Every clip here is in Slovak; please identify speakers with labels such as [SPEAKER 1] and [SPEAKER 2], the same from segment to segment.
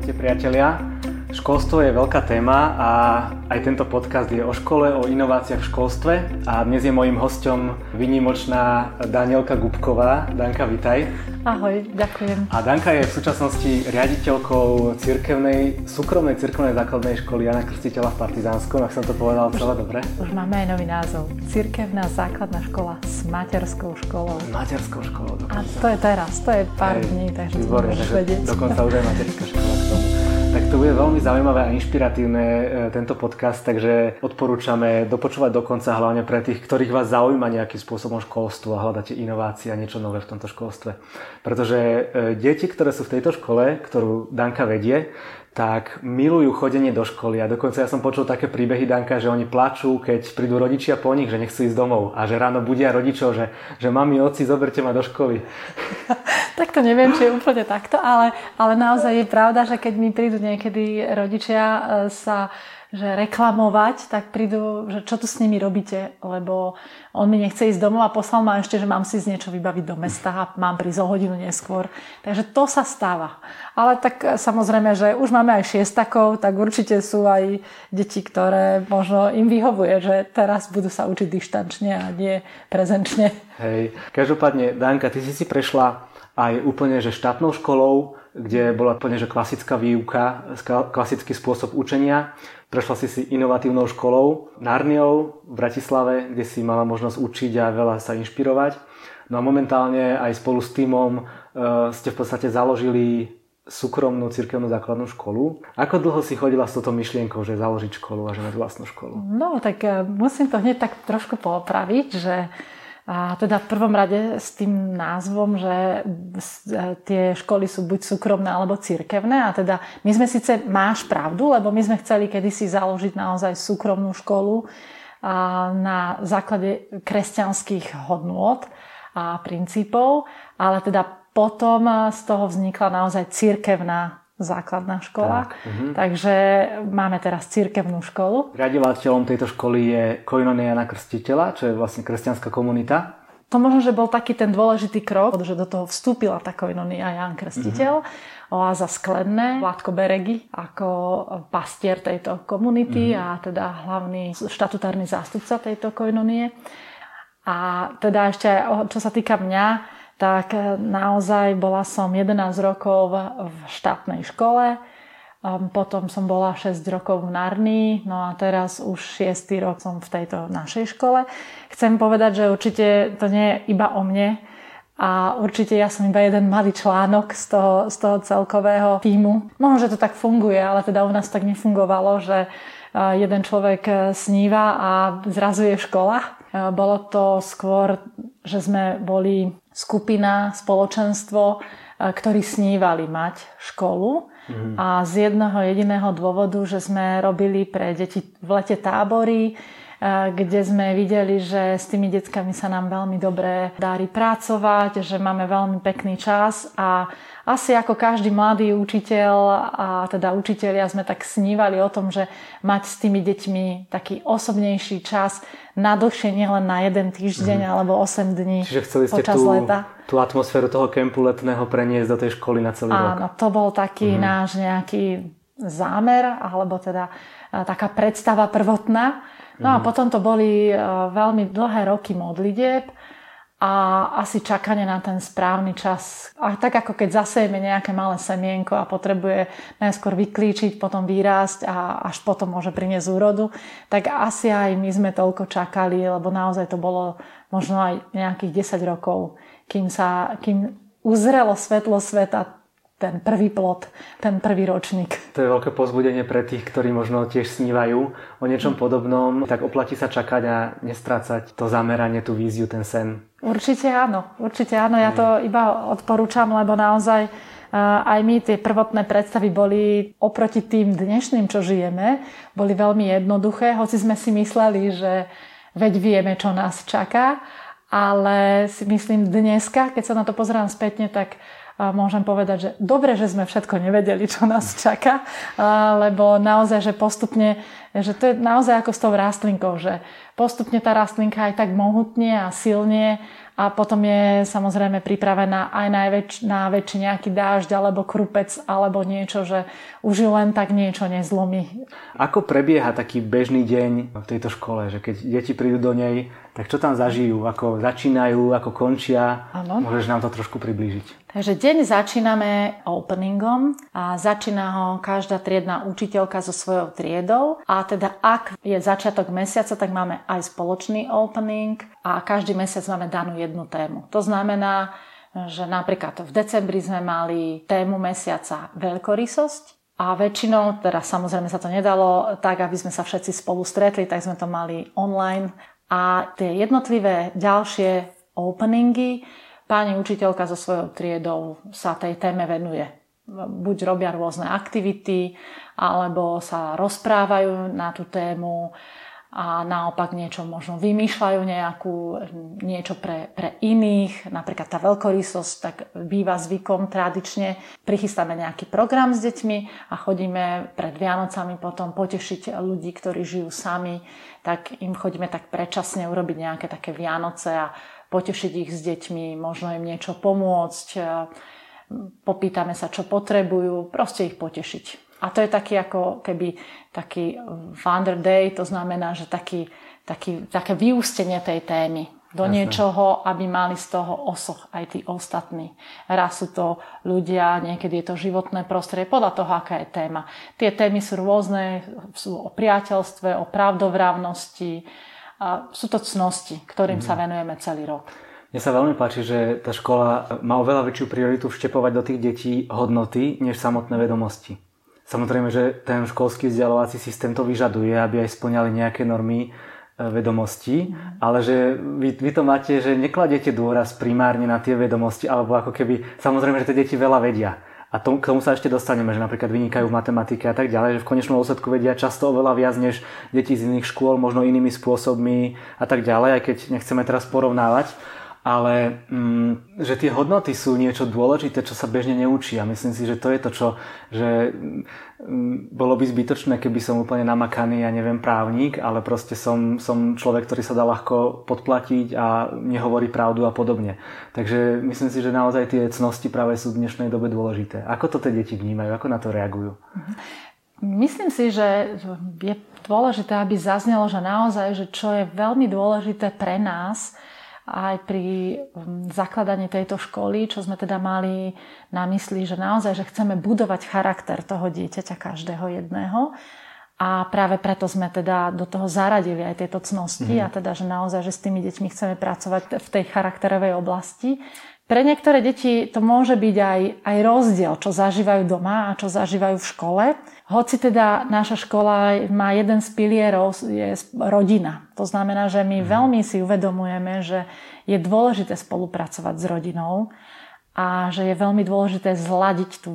[SPEAKER 1] Ahojte priatelia. Školstvo je veľká téma a aj tento podcast je o škole, o inováciách v školstve a dnes je mojím hosťom výnimočná Danielka Gubková. Danka, vitaj.
[SPEAKER 2] Ahoj, ďakujem.
[SPEAKER 1] A Danka je v súčasnosti riaditeľkou súkromnej cirkevnej základnej školy Jana Krstiteľa v Partizánskom, ak som to povedal celé dobre.
[SPEAKER 2] Už máme aj nový názov. Cirkevná základná škola s materskou školou.
[SPEAKER 1] Materskou školou dokonca.
[SPEAKER 2] A to je teraz, to je pár dní, takže to môžeš vedieť.
[SPEAKER 1] Dokonca už aj materská škola k tomu. Tak to bude veľmi zaujímavé a inšpiratívne tento podcast, takže odporúčame dopočúvať do konca, hlavne pre tých, ktorých vás zaujíma nejakým spôsobom školstvo a hľadáte inovácie a niečo nové v tomto školstve. Pretože deti, ktoré sú v tejto škole, ktorú Danka vedie, tak milujú chodenie do školy a dokonca ja som počul také príbehy, Danka, že oni plačú, keď prídu rodičia po nich, že nechcú ísť domov a že ráno budia rodičov, že mami, otci, zoberte ma do školy.
[SPEAKER 2] Tak to neviem, či je úplne takto, ale naozaj je pravda, že keď mi prídu niekedy rodičia že reklamovať, tak prídu, že čo tu s nimi robíte, lebo on mi nechce ísť domov a poslal ma ešte, že mám si z niečo vybaviť do mesta a mám prísť o hodinu neskôr. Takže to sa stáva. Ale tak samozrejme, že už máme aj šiestakov, tak určite sú aj deti, ktoré možno im vyhovuje, že teraz budú sa učiť dištančne a nie prezenčne.
[SPEAKER 1] Hej, každopádne, Danka, ty si prešla aj úplne že štátnou školou, kde bola úplne že klasická výuka, klasický spôsob učenia. Prešla si inovatívnou školou Narniou v Bratislave, kde si mala možnosť učiť a veľa sa inšpirovať. No a momentálne aj spolu s tímom ste v podstate založili súkromnú cirkevnú základnú školu. Ako dlho si chodila s touto myšlienkou, že založiť školu a že mať vlastnú školu?
[SPEAKER 2] No tak musím to hneď tak trošku poopraviť, že a teda v prvom rade s tým názvom, že tie školy sú buď súkromné alebo cirkevné a teda my sme síce, máš pravdu, lebo my sme chceli kedysi založiť naozaj súkromnú školu na základe kresťanských hodnôt a princípov, ale teda potom z toho vznikla naozaj cirkevná základná škola. Takže máme teraz cirkevnú školu.
[SPEAKER 1] Riadovateľom tejto školy je Koinonia Jana Krstiteľa, čo je vlastne kresťanská komunita.
[SPEAKER 2] To možno, že bol taký ten dôležitý krok, že do toho vstúpila tá Koinonia Jan Krstiteľ, Oáza Sklenné, Vládko Beregy ako pastier tejto komunity a teda hlavný štatutárny zástupca tejto Koinonie. A teda ešte, čo sa týka mňa, tak naozaj bola som 11 rokov v štátnej škole, potom som bola 6 rokov v Narnii, no a teraz už 6. rok som v tejto našej škole. Chcem povedať, že určite to nie je iba o mne a určite ja som iba jeden malý článok z toho celkového tímu. Možno, že to tak funguje, ale teda u nás tak nefungovalo, že jeden človek sníva a zrazu je škola. Bolo to skôr, že sme boli skupina, spoločenstvo, ktorí snívali mať školu. A z jedného jediného dôvodu, že sme robili pre deti v lete tábory, kde sme videli, že s tými deckami sa nám veľmi dobre darí pracovať, že máme veľmi pekný čas a asi ako každý mladý učiteľ a teda učitelia sme tak snívali o tom, že mať s tými deťmi taký osobnejší čas na dlhšie, nielen na jeden týždeň alebo 8 dní.
[SPEAKER 1] Čiže chceli ste tú atmosféru toho kempu letného preniesť do tej školy na celý rok.
[SPEAKER 2] Áno, to bol taký náš nejaký zámer, alebo teda taká predstava prvotná. No a potom to boli veľmi dlhé roky modlitieb a asi čakanie na ten správny čas. A tak ako keď zasejeme nejaké malé semienko a potrebuje najskôr vyklíčiť, potom vyrásť a až potom môže priniesť úrodu, tak asi aj my sme toľko čakali, lebo naozaj to bolo možno aj nejakých 10 rokov, kým uzrelo svetlo sveta ten prvý plod, ten prvý ročník.
[SPEAKER 1] To je veľké povzbudenie pre tých, ktorí možno tiež snívajú o niečom podobnom. Tak oplatí sa čakať a nestrácať to zameranie, tú víziu, ten sen.
[SPEAKER 2] Určite áno. Ja to iba odporúčam, lebo naozaj aj my tie prvotné predstavy boli oproti tým dnešným, čo žijeme, boli veľmi jednoduché, hoci sme si mysleli, že veď vieme, čo nás čaká, ale si myslím dneska, keď sa na to pozerám spätne, tak môžem povedať, že dobre, že sme všetko nevedeli, čo nás čaká, lebo naozaj, že postupne, že to je naozaj ako s tou rastlinkou, že postupne tá rastlinka aj tak mohutne a silne a potom je samozrejme pripravená aj na väčší nejaký dážď alebo krupec alebo niečo, že už ju len tak niečo nezlomí.
[SPEAKER 1] Ako prebieha taký bežný deň v tejto škole, že keď deti prídu do nej, tak čo tam zažijú, ako začínajú, ako končia? Ano. Môžeš nám to trošku priblížiť?
[SPEAKER 2] Takže deň začíname openingom a začína ho každá triedna učiteľka so svojou triedou a teda ak je začiatok mesiaca, tak máme aj spoločný opening a každý mesiac máme danú jednu tému. To znamená, že napríklad v decembri sme mali tému mesiaca veľkorysosť a väčšinou, teda samozrejme sa to nedalo tak, aby sme sa všetci spolu stretli, tak sme to mali online a tie jednotlivé ďalšie openingy pani učiteľka so svojou triedou sa tej téme venuje. Buď robia rôzne aktivity, alebo sa rozprávajú na tú tému a naopak niečo možno vymýšľajú niečo pre iných. Napríklad tá veľkorysosť, tak býva zvykom tradične. Prichystáme nejaký program s deťmi a chodíme pred Vianocami potom potešiť ľudí, ktorí žijú sami. Tak im chodíme tak predčasne urobiť nejaké také Vianoce a potešiť ich s deťmi, možno im niečo pomôcť, popýtame sa, čo potrebujú, proste ich potešiť. A to je taký ako keby taký Wonder Day, to znamená, že také vyústenie tej témy do niečoho, aby mali z toho osoch aj tí ostatní. Raz sú to ľudia, niekedy je to životné prostredie, podľa toho, aká je téma. Tie témy sú rôzne, sú o priateľstve, o pravdovravnosti, a sú to cnosti, ktorým sa venujeme celý rok.
[SPEAKER 1] Mne sa veľmi páči, že tá škola má oveľa väčšiu prioritu vštepovať do tých detí hodnoty, než samotné vedomosti. Samozrejme, že ten školský vzdelávací systém to vyžaduje, aby aj spĺňali nejaké normy vedomostí, ale že vy to máte, že nekladiete dôraz primárne na tie vedomosti, alebo ako keby, samozrejme, že tie deti veľa vedia. A k tomu sa ešte dostaneme, že napríklad vynikajú v matematike a tak ďalej, že v konečnom dôsledku vedia často oveľa viac než deti z iných škôl, možno inými spôsobmi a tak ďalej, aj keď nechceme teraz porovnávať. Ale že tie hodnoty sú niečo dôležité, čo sa bežne neučí. A myslím si, že to je to, že bolo by zbytočné, keby som úplne namakaný, ja neviem, právnik, ale proste som človek, ktorý sa dá ľahko podplatiť a nehovorí pravdu a podobne. Takže myslím si, že naozaj tie cnosti práve sú v dnešnej dobe dôležité. Ako to tie deti vnímajú? Ako na to reagujú?
[SPEAKER 2] Myslím si, že je dôležité, aby zaznelo, že naozaj, že čo je veľmi dôležité pre nás, aj pri zakladaní tejto školy, čo sme teda mali na mysli, že naozaj, že chceme budovať charakter toho dieťaťa každého jedného a práve preto sme teda do toho zaradili aj tieto cnosti a teda, že naozaj, že s tými deťmi chceme pracovať v tej charakterovej oblasti. Pre niektoré deti to môže byť aj rozdiel, čo zažívajú doma a čo zažívajú v škole. Hoci teda naša škola má jeden z pilierov, je rodina. To znamená, že my veľmi si uvedomujeme, že je dôležité spolupracovať s rodinou a že je veľmi dôležité zladiť tú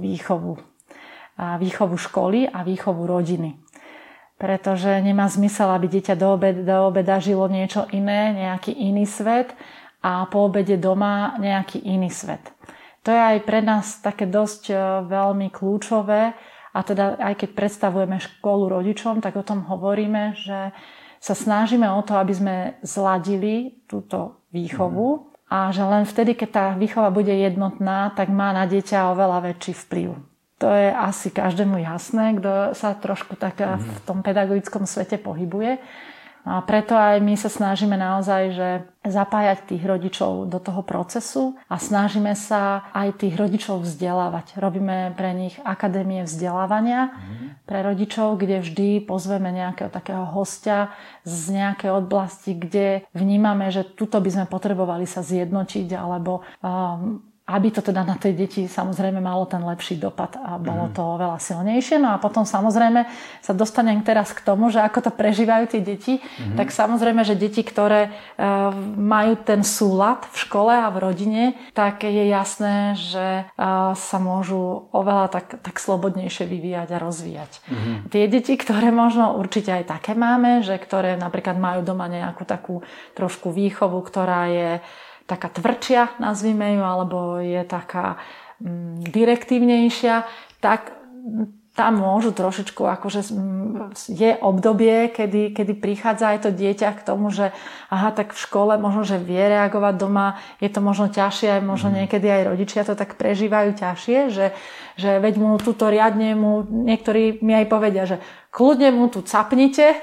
[SPEAKER 2] výchovu školy a výchovu rodiny. Pretože nemá zmysel, aby dieťa do obeda žilo niečo iné, nejaký iný svet a po obede doma nejaký iný svet. To je aj pre nás také dosť veľmi kľúčové. A teda aj keď predstavujeme školu rodičom, tak o tom hovoríme, že sa snažíme o to, aby sme zladili túto výchovu a že len vtedy, keď tá výchova bude jednotná, tak má na dieťa oveľa väčší vplyv. To je asi každému jasné, kto sa trošku tak v tom pedagogickom svete pohybuje. A preto aj my sa snažíme naozaj, že zapájať tých rodičov do toho procesu a snažíme sa aj tých rodičov vzdelávať. Robíme pre nich akadémie vzdelávania pre rodičov, kde vždy pozveme nejakého takého hostia z nejakej oblasti, kde vnímame, že tuto by sme potrebovali sa zjednotiť alebo aby to teda na tej deti samozrejme malo ten lepší dopad a bolo to oveľa silnejšie. No a potom samozrejme sa dostanem teraz k tomu, že ako to prežívajú tie deti, tak samozrejme, že deti, ktoré majú ten súlad v škole a v rodine, tak je jasné, že sa môžu oveľa tak slobodnejšie vyvíjať a rozvíjať. Tie deti, ktoré možno určite aj také máme, že ktoré napríklad majú doma nejakú takú trošku výchovu, ktorá je taká tvrdšia, nazvime ju, alebo je taká direktívnejšia, tak tam môžu trošičku, akože je obdobie, kedy prichádza aj to dieťa k tomu, že aha, tak v škole možno, že vie reagovať, doma je to možno ťažšie, aj možno niekedy aj rodičia to tak prežívajú ťažšie, že veď mu túto riadne niektorí mi aj povedia, že kľudne mu tu capnite,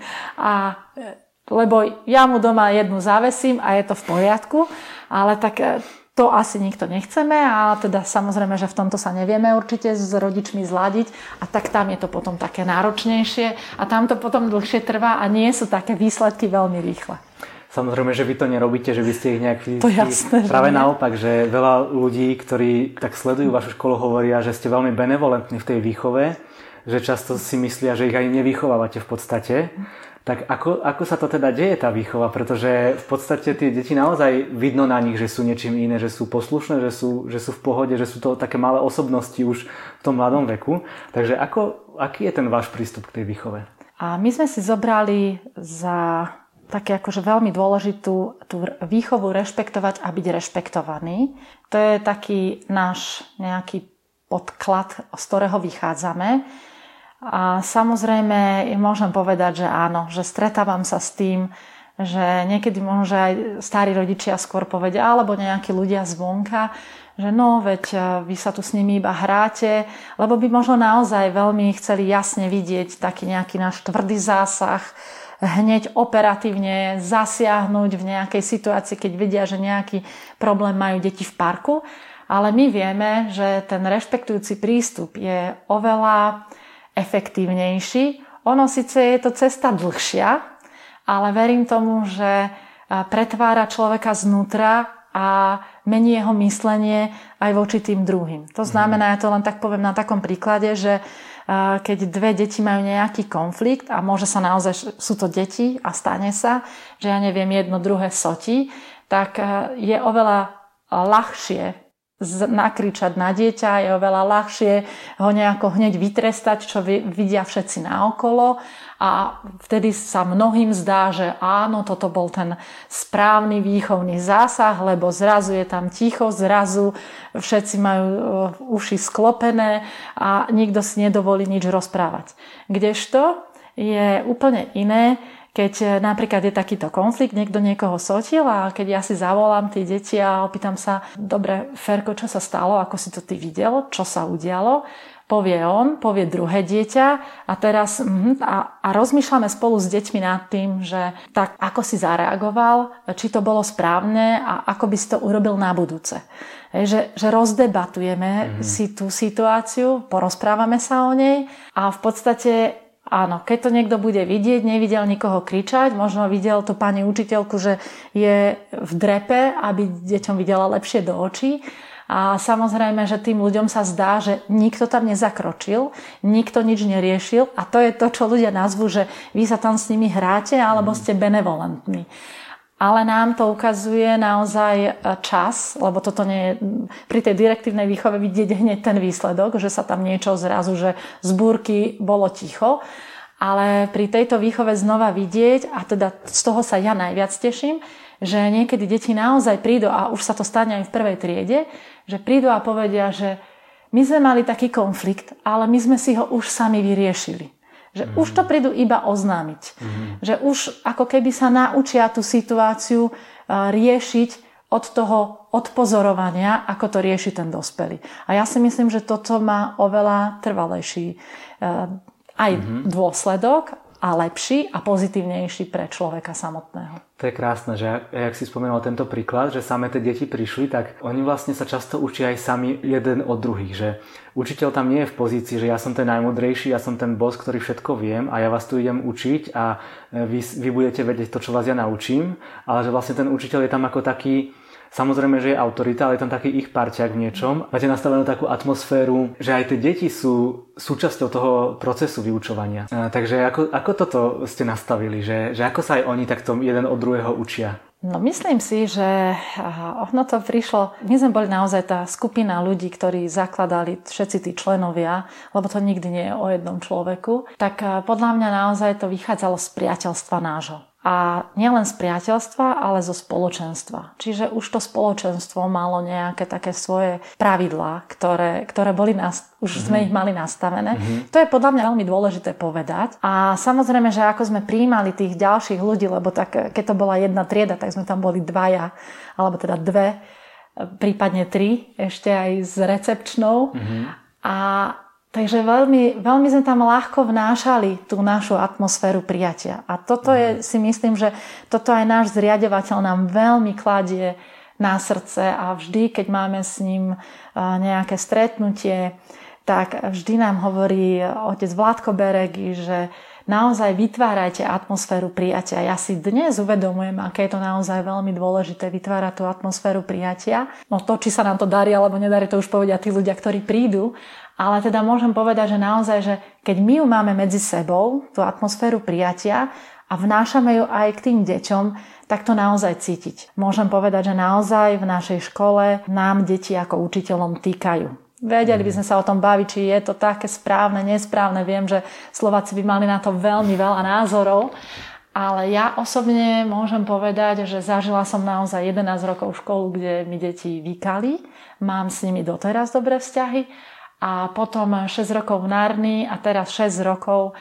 [SPEAKER 2] lebo ja mu doma jednu zavesím a je to v poriadku, ale tak to asi nikto nechceme a teda samozrejme, že v tomto sa nevieme určite s rodičmi zladiť a tak tam je to potom také náročnejšie a tam to potom dlhšie trvá a nie sú také výsledky veľmi rýchle.
[SPEAKER 1] Samozrejme, že vy to nerobíte, že by ste ich nejak fyzicky...
[SPEAKER 2] To jasné,
[SPEAKER 1] práve naopak, že veľa ľudí, ktorí tak sledujú vašu školu, hovoria, že ste veľmi benevolentní v tej výchove, že často si myslia, že ich aj nevychovávate v podstate. Tak ako sa to teda deje, tá výchova? Pretože v podstate tie deti naozaj vidno na nich, že sú niečím iné, že sú poslušné, že sú v pohode, že sú to také malé osobnosti už v tom mladom veku. Takže aký je ten váš prístup k tej výchove?
[SPEAKER 2] A my sme si zobrali za také akože veľmi dôležitú tú výchovu rešpektovať a byť rešpektovaný. To je taký náš nejaký podklad, z ktorého vychádzame. A samozrejme môžem povedať, že áno, že stretávam sa s tým, že niekedy možno, že aj starí rodičia skôr povedia, alebo nejakí ľudia zvonka, že no, veď vy sa tu s nimi iba hráte, lebo by možno naozaj veľmi chceli jasne vidieť taký nejaký náš tvrdý zásah, hneď operatívne zasiahnuť v nejakej situácii, keď vidia, že nejaký problém majú deti v parku. Ale my vieme, že ten rešpektujúci prístup je oveľa efektívnejší. Ono síce je to cesta dlhšia, ale verím tomu, že pretvára človeka znútra a mení jeho myslenie aj voči tým druhým. To znamená, ja to len tak poviem na takom príklade, že keď dve deti majú nejaký konflikt a môže sa naozaj, sú to deti a stane sa, že ja neviem, jedno druhé sotí, tak je oveľa ľahšie nakričať na dieťa, je oveľa ľahšie ho nejako hneď vytrestať, čo vidia všetci naokolo a vtedy sa mnohým zdá, že áno, toto bol ten správny výchovný zásah, lebo zrazu je tam ticho, zrazu všetci majú uši sklopené a nikto si nedovolí nič rozprávať. Kdežto je úplne iné, keď napríklad je takýto konflikt, niekto niekoho sotil a keď ja si zavolám tie deti a opýtam sa, dobre, Ferko, čo sa stalo, ako si to ty videl, čo sa udialo, povie on, povie druhé dieťa a teraz a rozmýšľame spolu s deťmi nad tým, že tak ako si zareagoval, či to bolo správne a ako by si to urobil na budúce. Že rozdebatujeme si tú situáciu, porozprávame sa o nej a v podstate áno, keď to niekto bude vidieť, nevidel nikoho kričať, možno videl tú pani učiteľku, že je v drepe, aby deťom videla lepšie do očí. A samozrejme, že tým ľuďom sa zdá, že nikto tam nezakročil, nikto nič neriešil a to je to, čo ľudia nazvú, že vy sa tam s nimi hráte alebo ste benevolentní. Ale nám to ukazuje naozaj čas, lebo toto nie je pri tej direktívnej výchove vidieť hneď ten výsledok, že sa tam niečo zrazu, že z búrky bolo ticho. Ale pri tejto výchove znova vidieť, a teda z toho sa ja najviac teším, že niekedy deti naozaj prídu, a už sa to stane aj v prvej triede, že prídu a povedia, že my sme mali taký konflikt, ale my sme si ho už sami vyriešili. Že už to prídu iba oznámiť. Že už ako keby sa naučia tú situáciu riešiť od toho odpozorovania, ako to rieši ten dospelý. A ja si myslím, že toto má oveľa trvalejší aj dôsledok a lepší a pozitívnejší pre človeka samotného.
[SPEAKER 1] To je krásne, že jak si spomenul tento príklad, že same tie deti prišli, tak oni vlastne sa často učia aj sami jeden od druhých, že učiteľ tam nie je v pozícii, že ja som ten najmudrejší, ja som ten boss, ktorý všetko viem a ja vás tu idem učiť a vy budete vedieť to, čo vás ja naučím, ale že vlastne ten učiteľ je tam ako taký, samozrejme, že je autorita, ale je tam taký ich parťák v niečom. Máte nastavenú takú atmosféru, že aj tie deti sú súčasťou toho procesu vyučovania. Takže ako toto ste nastavili? Že ako sa aj oni takto jeden od druhého učia?
[SPEAKER 2] No myslím si, že ono to prišlo, my sme boli naozaj tá skupina ľudí, ktorí zakladali všetci tí členovia, lebo to nikdy nie je o jednom človeku, tak podľa mňa naozaj to vychádzalo z priateľstva nášho. A nielen z priateľstva, ale zo spoločenstva. Čiže už to spoločenstvo malo nejaké také svoje pravidlá, ktoré boli už sme ich mali nastavené. To je podľa mňa veľmi dôležité povedať. A samozrejme, že ako sme prijímali tých ďalších ľudí, lebo tak, keď to bola jedna trieda, tak sme tam boli dvaja, alebo teda dve, prípadne tri, ešte aj s recepčnou. A takže veľmi, veľmi sme tam ľahko vnášali tú našu atmosféru prijatia. A toto je, si myslím, že toto aj náš zriaďovateľ nám veľmi kladie na srdce a vždy, keď máme s ním nejaké stretnutie, tak vždy nám hovorí otec Vládko Beregy, že naozaj vytvárajte atmosféru prijatia. Ja si dnes uvedomujem, aké je to naozaj veľmi dôležité vytvárať tú atmosféru prijatia. No to, či sa nám to darí alebo nedarí, to už povedia tí ľudia, ktorí prídu. Ale teda môžem povedať, že naozaj, že keď my ju máme medzi sebou, tú atmosféru prijatia a vnášame ju aj k tým deťom, tak to naozaj cítiť. Môžem povedať, že naozaj v našej škole nám deti ako učiteľom týkajú. Vedeli by sme sa o tom baviť, či je to také správne, nesprávne. Viem, že Slováci by mali na to veľmi veľa názorov, ale ja osobne môžem povedať, že zažila som naozaj 11 rokov školu, kde mi deti vykali. Mám s nimi doteraz dobré vzťahy. A potom 6 rokov v Narni a teraz 6 rokov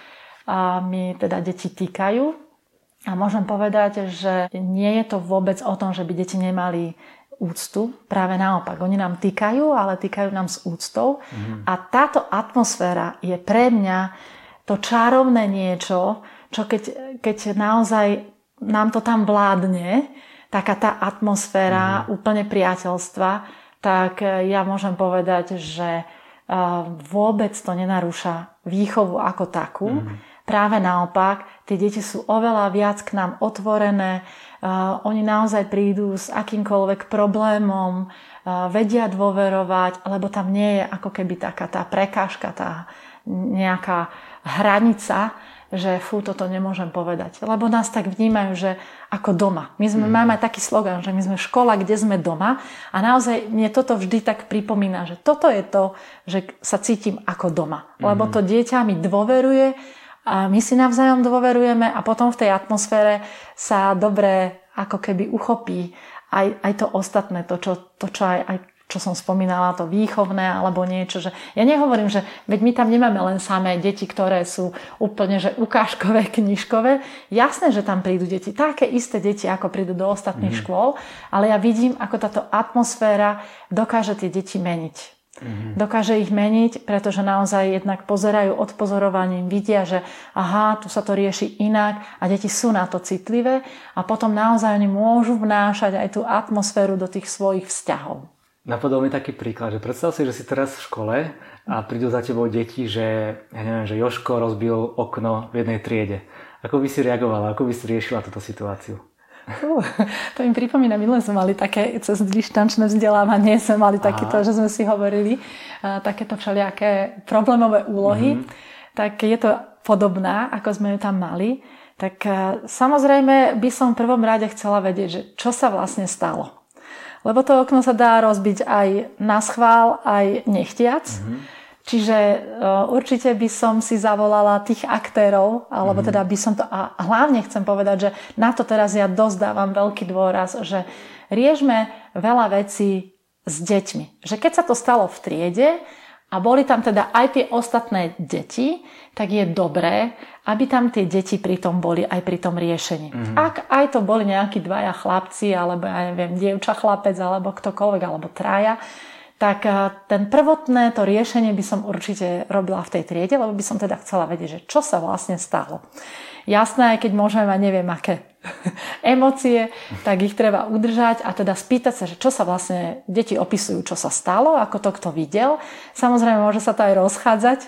[SPEAKER 2] mi teda deti týkajú. A môžem povedať, že nie je to vôbec o tom, že by deti nemali úctu. Práve naopak, oni nám týkajú, ale týkajú nám s úctou. A táto atmosféra je pre mňa to čarovné niečo, čo keď naozaj nám to tam vládne, taká tá atmosféra úplne priateľstva, tak ja môžem povedať, že vôbec to nenarúša výchovu ako takú. Práve naopak, tie deti sú oveľa viac k nám otvorené, oni naozaj prídu s akýmkoľvek problémom, vedia dôverovať, lebo tam nie je ako keby taká tá prekážka, tá nejaká hranica, že toto nemôžem povedať. Lebo nás tak vnímajú, že ako doma. My máme aj taký slogan, že my sme škola, kde sme doma. A naozaj mne toto vždy tak pripomína, že toto je to, že sa cítim ako doma. Lebo to dieťa mi dôveruje a my si navzájom dôverujeme a potom v tej atmosfére sa dobre ako keby uchopí aj to ostatné, to čo aj čo som spomínala, to výchovné alebo niečo, že ja nehovorím, že veď my tam nemáme len samé deti, ktoré sú úplne že ukážkové, knižkové. Jasné, že tam prídu deti, také isté deti, ako prídu do ostatných škôl, ale ja vidím, ako táto atmosféra dokáže tie deti meniť. Dokáže ich meniť, pretože naozaj jednak pozerajú odpozorovaním, vidia, že aha, tu sa to rieši inak a deti sú na to citlivé a potom naozaj oni môžu vnášať aj tú atmosféru do tých svojich vzťahov.
[SPEAKER 1] Napadol mi taký príklad, že predstav si, že si teraz v škole a prídu za tebou deti, že ja neviem, že Jožko rozbil okno v jednej triede. Ako by si reagovala, ako by si riešila túto situáciu?
[SPEAKER 2] To mi pripomína, my sme mali také cez dištančné vzdelávanie, sme mali takýto, že sme si hovorili takéto všelijaké problémové úlohy, tak je to podobná, ako sme ju tam mali. Tak samozrejme by som v prvom rade chcela vedieť, že čo sa vlastne stalo. Lebo to okno sa dá rozbiť aj na schvál, aj nechtiac. Čiže určite by som si zavolala tých aktérov, alebo teda by som to... A hlavne chcem povedať, že na to teraz ja dosť dávam veľký dôraz, že riešme veľa vecí s deťmi. Že keď sa to stalo v triede a boli tam teda aj tie ostatné deti, tak je dobré, aby tam tie deti pritom boli aj pri tom riešení. Ak aj to boli nejakí dvaja chlapci, alebo ja neviem, dievča, chlapec, alebo ktokoľvek, alebo traja, tak ten prvotné to riešenie by som určite robila v tej triede, lebo by som teda chcela vedieť, že čo sa vlastne stalo. Jasné, aj keď môžeme mať neviem aké emócie, tak ich treba udržať a teda spýtať sa, že čo sa vlastne deti opisujú, čo sa stalo, ako to kto videl. Samozrejme, môže sa to aj rozchádzať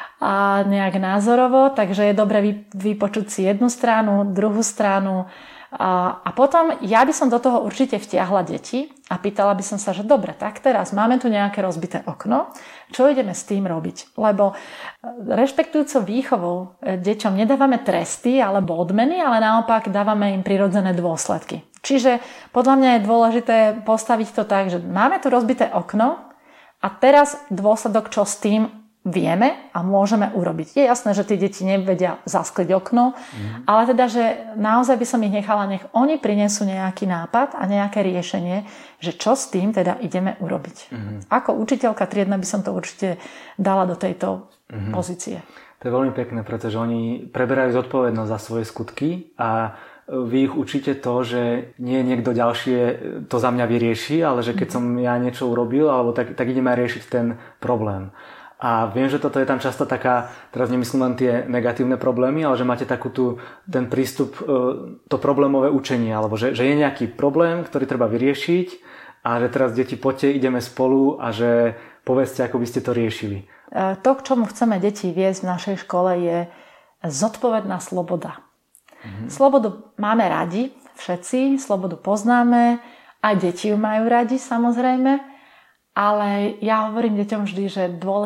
[SPEAKER 2] a nejak názorovo, takže je dobre vypočuť si jednu stranu, druhú stranu a potom ja by som do toho určite vtiahla deti a pýtala by som sa, že dobre, tak teraz máme tu nejaké rozbité okno, čo ideme s tým robiť? Lebo rešpektujúco výchovou deťom nedávame tresty alebo odmeny, ale naopak dávame im prirodzené dôsledky. Čiže podľa mňa je dôležité postaviť to tak, že máme tu rozbité okno a teraz dôsledok, čo s tým vieme a môžeme urobiť. Je jasné, že tie deti nevedia zaskliť okno, ale teda, že naozaj by som ich nechala, nech oni prinesú nejaký nápad a nejaké riešenie, že čo s tým teda ideme urobiť. Ako učiteľka triedna by som to určite dala do tejto pozície.
[SPEAKER 1] To je veľmi pekné, pretože oni preberajú zodpovednosť za svoje skutky a vy ich učíte to, že nie niekto ďalšie to za mňa vyrieši, ale že keď som ja niečo urobil, alebo tak ideme riešiť ten problém. A viem, že toto je tam často taká, teraz nemyslím len tie negatívne problémy, ale že máte ten prístup, to problémové učenie, alebo že je nejaký problém, ktorý treba vyriešiť a že teraz deti poďte, ideme spolu a že povedzte, ako by ste to riešili.
[SPEAKER 2] To, k čomu chceme deti viesť v našej škole, je zodpovedná sloboda. Slobodu máme radi, všetci, slobodu poznáme, aj deti ju majú radi, samozrejme. Ale ja hovorím deťom vždy, že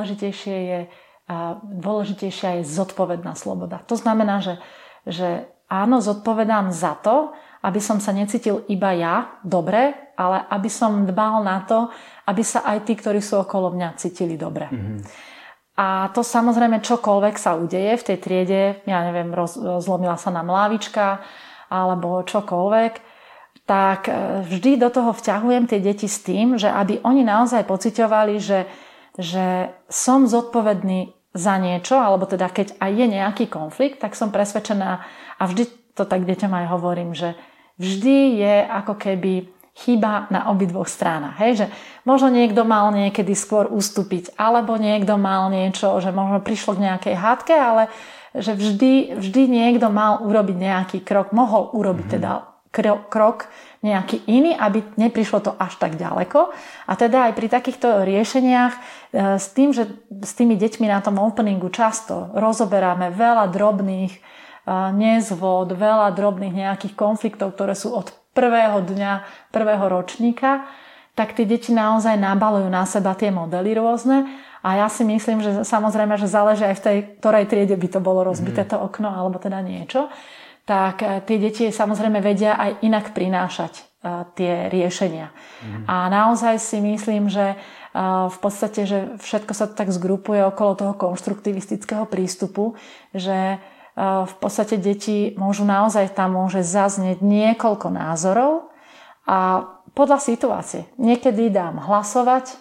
[SPEAKER 2] dôležitejšia je zodpovedná sloboda. To znamená, že áno, zodpovedám za to, aby som sa necítil iba ja dobre, ale aby som dbal na to, aby sa aj tí, ktorí sú okolo mňa, cítili dobre. A to samozrejme čokoľvek sa udeje v tej triede, ja neviem, zlomila sa nám lávička alebo čokoľvek, tak vždy do toho vťahujem tie deti s tým, že aby oni naozaj pociťovali, že som zodpovedný za niečo, alebo teda keď aj je nejaký konflikt, tak som presvedčená a vždy to tak deťom aj hovorím, že vždy je ako keby chyba na obidvoch stranách. Hej? Že možno niekto mal niekedy skôr ustúpiť, alebo niekto mal niečo, že možno prišlo k nejakej hádke, ale že vždy niekto mal urobiť nejaký krok, mohol urobiť teda krok nejaký iný, aby neprišlo to až tak ďaleko. A teda aj pri takýchto riešeniach s tým, že s tými deťmi na tom openingu často rozoberáme veľa drobných nezvod, veľa drobných nejakých konfliktov, ktoré sú od prvého dňa, prvého ročníka, tak tie deti naozaj nabalujú na seba tie modely rôzne. A ja si myslím, že samozrejme, že záleží aj v tej ktorej triede by to bolo rozbité to okno, alebo teda niečo. Tak tie deti samozrejme vedia aj inak prinášať tie riešenia. A naozaj si myslím, že v podstate, že všetko sa tak zgrupuje okolo toho konštruktivistického prístupu, že v podstate deti môže zaznieť niekoľko názorov a podľa situácie. Niekedy dám hlasovať,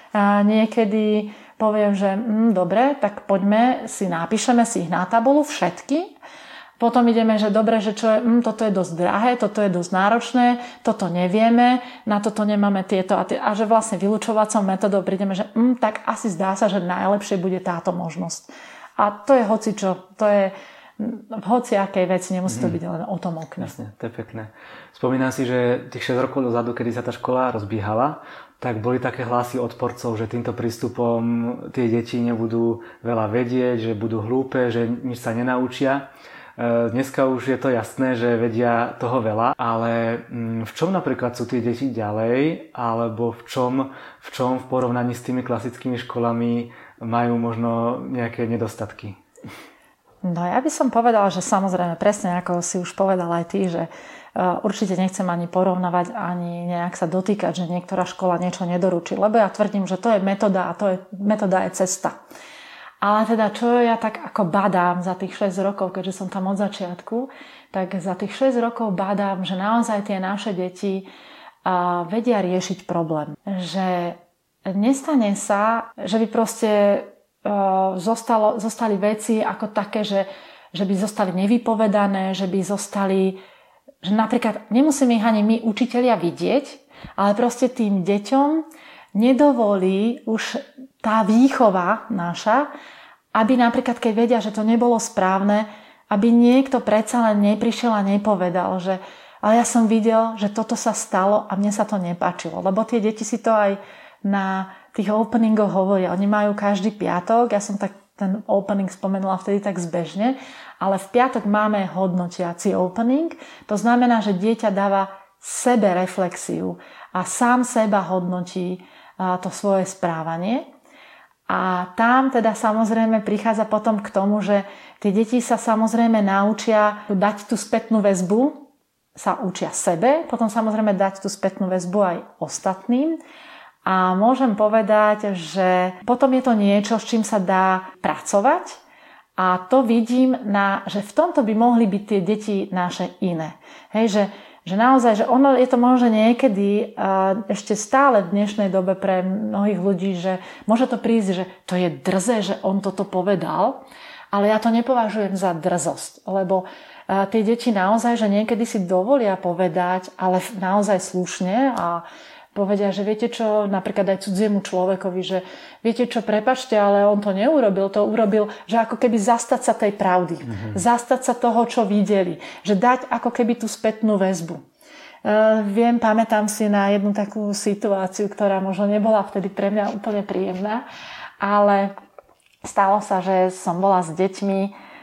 [SPEAKER 2] niekedy poviem, že dobre, tak poďme napíšeme si ich na tabulu všetky. Potom ideme, že dobre, že toto je dosť drahé, toto je dosť náročné, toto nevieme, na toto nemáme tieto a že vlastne vylučovacou metodou prídeme, že tak asi zdá sa, že najlepšie bude táto možnosť. A to je hocičo, to je v hociakej veci, nemusí to byť len o tom okne.
[SPEAKER 1] Jasne, to je pekné. Spomínam si, že tých 6 rokov dozadu, kedy sa tá škola rozbiehala, tak boli také hlasy odporcov, že týmto prístupom tie deti nebudú veľa vedieť, že budú hlúpe, že nič sa nenaučia. Dneska už je to jasné, že vedia toho veľa, ale v čom napríklad sú tie deti ďalej, alebo v čom v porovnaní s tými klasickými školami majú možno nejaké nedostatky?
[SPEAKER 2] No ja by som povedala, že samozrejme presne ako si už povedal aj ty, že určite nechcem ani porovnávať, ani nejak sa dotýkať, že niektorá škola niečo nedoručí, lebo ja tvrdím, že to je metóda a metóda je cesta. Ale teda, čo ja tak ako badám za tých 6 rokov, keďže som tam od začiatku, tak za tých 6 rokov badám, že naozaj tie naše deti vedia riešiť problém. Že nestane sa, že by proste zostali veci ako také, že by zostali nevypovedané, že by zostali, že napríklad nemusíme ich ani my učitelia vidieť, ale proste tým deťom nedovolí už tá výchova naša, aby napríklad, keď vedia, že to nebolo správne, aby niekto predsa len neprišiel a nepovedal, že ale ja som videl, že toto sa stalo a mne sa to nepáčilo. Lebo tie deti si to aj na tých openingoch hovoria. Oni majú každý piatok, ja som tak ten opening spomenula vtedy tak zbežne, ale v piatok máme hodnotiaci opening. To znamená, že dieťa dáva sebe reflexiu a sám seba hodnotí to svoje správanie. A tam teda samozrejme prichádza potom k tomu, že tie deti sa samozrejme naučia dať tú spätnú väzbu, sa učia sebe, potom samozrejme dať tú spätnú väzbu aj ostatným A môžem povedať, že potom je to niečo, s čím sa dá pracovať a to vidím, že v tomto by mohli byť tie deti naše iné. Hej, že naozaj, že ono je to možno niekedy ešte stále v dnešnej dobe pre mnohých ľudí, že môže to prísť, že to je drze, že on toto povedal, ale ja to nepovažujem za drzosť, lebo tie deti naozaj, že niekedy si dovolia povedať, ale naozaj slušne a povedia, že viete čo, napríklad aj cudziemu človekovi, že viete čo, prepáčte, ale on to neurobil, to urobil, že ako keby zastať sa tej pravdy, zastať sa toho, čo videli, že dať ako keby tú spätnú väzbu. Pamätám si na jednu takú situáciu, ktorá možno nebola vtedy pre mňa úplne príjemná, ale stalo sa, že som bola s deťmi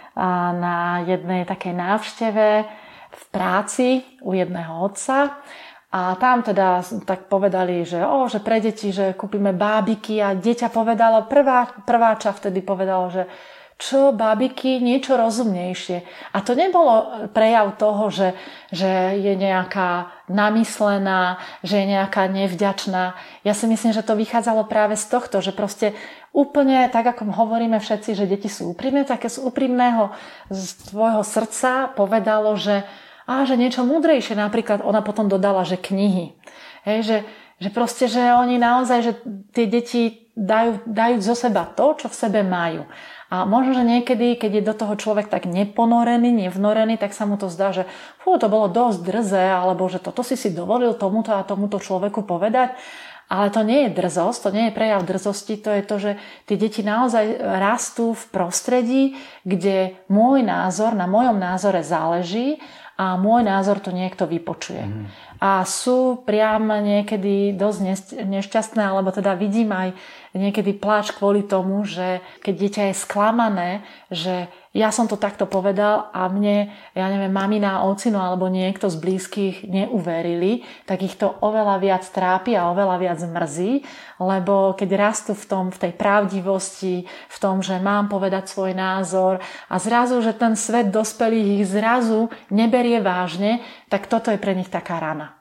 [SPEAKER 2] na jednej takej návšteve v práci u jedného otca. A tam teda tak povedali, že pre deti, že kúpime bábiky a dieťa povedalo, prváča vtedy povedalo, že čo bábiky, niečo rozumnejšie. A to nebolo prejav toho, že je nejaká namyslená, že je nejaká nevďačná. Ja si myslím, že to vychádzalo práve z tohto, že proste úplne tak, ako hovoríme všetci, že deti sú úprimné, také z úprimného z tvojho srdca povedalo, že niečo múdrejšie, napríklad ona potom dodala, že knihy. Hej, že proste, že oni naozaj, že tie deti dajú zo seba to, čo v sebe majú. A možno, že niekedy, keď je do toho človek tak neponorený, nevnorený, tak sa mu to zdá, že to bolo dosť drze, alebo že toto si dovolil tomuto a tomuto človeku povedať. Ale to nie je drzosť, to nie je prejav drzosti, to je to, že tie deti naozaj rastú v prostredí, kde môj názor, na mojom názore záleží a môj názor to niekto vypočuje. A sú priam niekedy dosť nešťastné, alebo teda vidím aj niekedy pláč kvôli tomu, že keď dieťa je sklamané, že ja som to takto povedal a mne, mamina, ocino alebo niekto z blízkych neuverili, tak ich to oveľa viac trápi a oveľa viac mrzí, lebo keď rastú v tej pravdivosti, v tom, že mám povedať svoj názor a zrazu, že ten svet dospelých ich zrazu neberie vážne, tak toto je pre nich taká rana.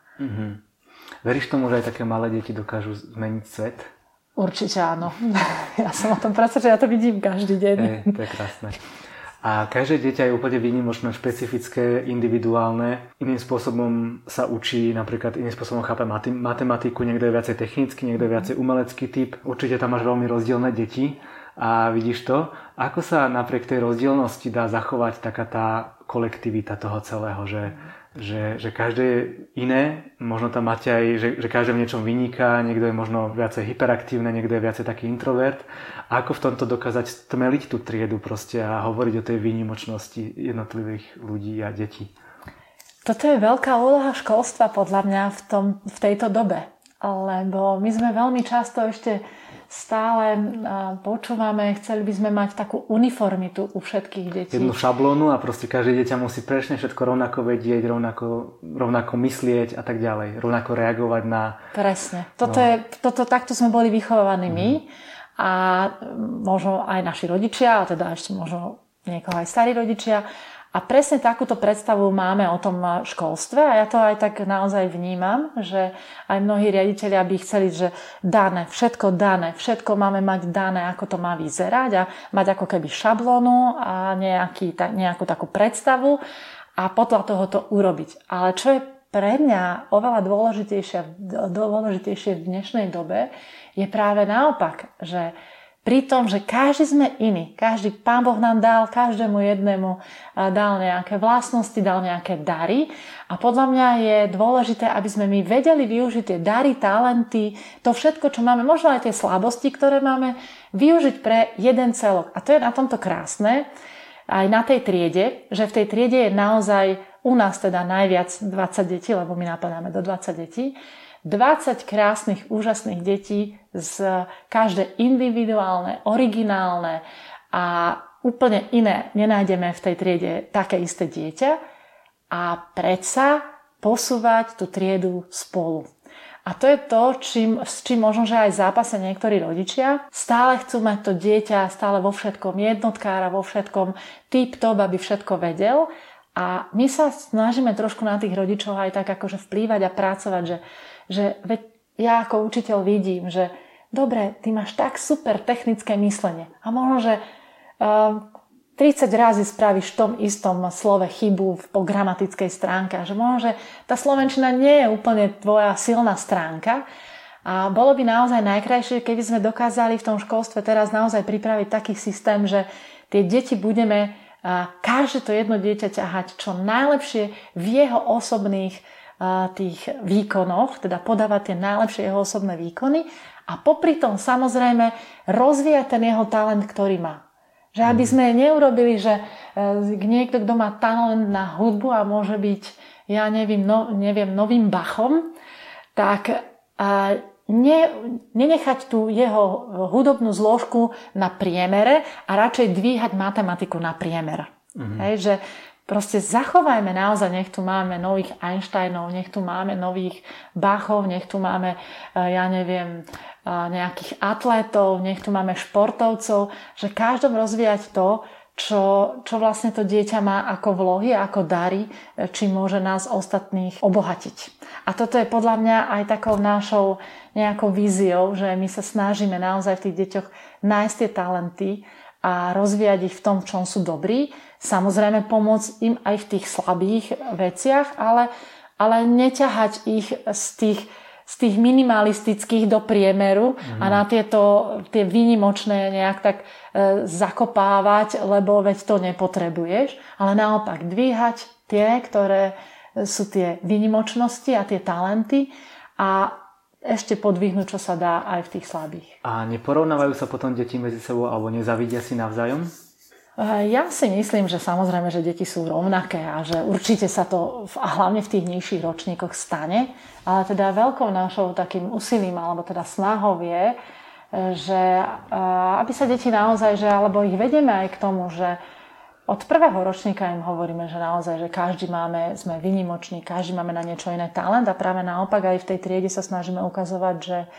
[SPEAKER 1] Veríš tomu, že aj také malé deti dokážu zmeniť svet?
[SPEAKER 2] Určite áno. Ja som o tom presvedčená, ja to vidím každý deň.
[SPEAKER 1] To je krásne. A každé dieťa je úplne výnimočné, špecifické, individuálne. Iným spôsobom sa učí, napríklad iným spôsobom chápe matematiku, niekto je viacej technický, niekto je viacej umelecký typ. Určite tam máš veľmi rozdielne deti a vidíš to. Ako sa napriek tej rozdielnosti dá zachovať taká tá kolektivita toho celého, že každé je iné, možno tam máte aj, že každé v niečom vyniká, niekto je možno viacej hyperaktívne, niekto je viacej taký introvert. A ako v tomto dokázať stmeliť tú triedu proste a hovoriť o tej výnimočnosti jednotlivých ľudí a detí?
[SPEAKER 2] Toto je veľká úloha školstva podľa mňa v tejto dobe, lebo my sme veľmi často ešte stále počúvame, chceli by sme mať takú uniformitu u všetkých detí.
[SPEAKER 1] Jednu šablónu a proste každé dieťa musí presne všetko rovnako vedieť, rovnako myslieť a tak ďalej, rovnako reagovať na... Presne.
[SPEAKER 2] Takto sme boli vychovávaní my a možno aj naši rodičia, a teda ešte možno niekoho aj starí rodičia. A presne takúto predstavu máme o tom školstve a ja to aj tak naozaj vnímam, že aj mnohí riaditelia by chceli, že dané, všetko máme mať dané, ako to má vyzerať a mať ako keby šablónu a nejakú takú predstavu a podľa toho to urobiť. Ale čo je pre mňa oveľa dôležitejšie v dnešnej dobe, je práve naopak, že pri tom, že každý sme iný, Pán Boh nám dal, každému jednému dal nejaké vlastnosti, dal nejaké dary a podľa mňa je dôležité, aby sme my vedeli využiť tie dary, talenty, to všetko, čo máme, možno aj tie slabosti, ktoré máme, využiť pre jeden celok. A to je na tomto krásne, aj na tej triede, že v tej triede je naozaj u nás teda najviac 20 detí, lebo my napadáme do 20 detí, 20 krásnych, úžasných detí, každé individuálne, originálne a úplne iné. Nenájdeme v tej triede také isté dieťa a predsa posúvať tú triedu spolu. A to je to, s čím možno, že aj zápasia niektorí rodičia. Stále chcú mať to dieťa, stále vo všetkom jednotkára, vo všetkom tip-top, aby všetko vedel. A my sa snažíme trošku na tých rodičov aj tak akože vplývať a pracovať, že ja ako učiteľ vidím, že dobre, ty máš tak super technické myslenie a možno, že 30 razy spravíš v tom istom slove chybu po gramatickej stránke a že možno, že tá slovenčina nie je úplne tvoja silná stránka a bolo by naozaj najkrajšie, keby sme dokázali v tom školstve teraz naozaj pripraviť taký systém, že tie deti budeme každé to jedno dieťa ťahať čo najlepšie v jeho osobných tých výkonoch, teda podávať tie najlepšie jeho osobné výkony a popri tom samozrejme rozvíjať ten jeho talent, ktorý má. Že aby sme neurobili, že niekto, kto má talent na hudbu a môže byť, ja neviem, novým Bachom, tak nenechať tú jeho hudobnú zložku na priemere a radšej dvíhať matematiku na priemer. Hej, že proste zachovajme naozaj, nech tu máme nových Einsteinov, nech tu máme nových Bachov, nech tu máme, ja neviem, nejakých atlétov, nech tu máme športovcov, že každom rozvíjať to, čo vlastne to dieťa má ako vlohy, ako dary, či môže nás ostatných obohatiť. A toto je podľa mňa aj takou našou nejakou víziou, že my sa snažíme naozaj v tých deťoch nájsť tie talenty a rozvíjať ich v tom, v čom sú dobrí. Samozrejme pomôcť im aj v tých slabých veciach, ale neťahať ich z tých minimalistických do priemeru a na tie výnimočné nejak tak zakopávať, lebo veď to nepotrebuješ, ale naopak dvíhať tie, ktoré sú tie výnimočnosti a tie talenty a ešte podvihnúť, čo sa dá aj v tých slabých.
[SPEAKER 1] A neporovnávajú sa potom deti medzi sebou alebo nezavidia si navzájom?
[SPEAKER 2] Ja si myslím, že samozrejme, že deti sú rovnaké a že určite sa to hlavne v tých nižších ročníkoch stane, ale teda veľkou našou takým úsilím alebo teda snahou je, že aby sa deti naozaj, že alebo ich vedieme aj k tomu, že od prvého ročníka im hovoríme, že naozaj, že sme výnimoční, každý máme na niečo iné talent a práve naopak aj v tej triede sa snažíme ukazovať,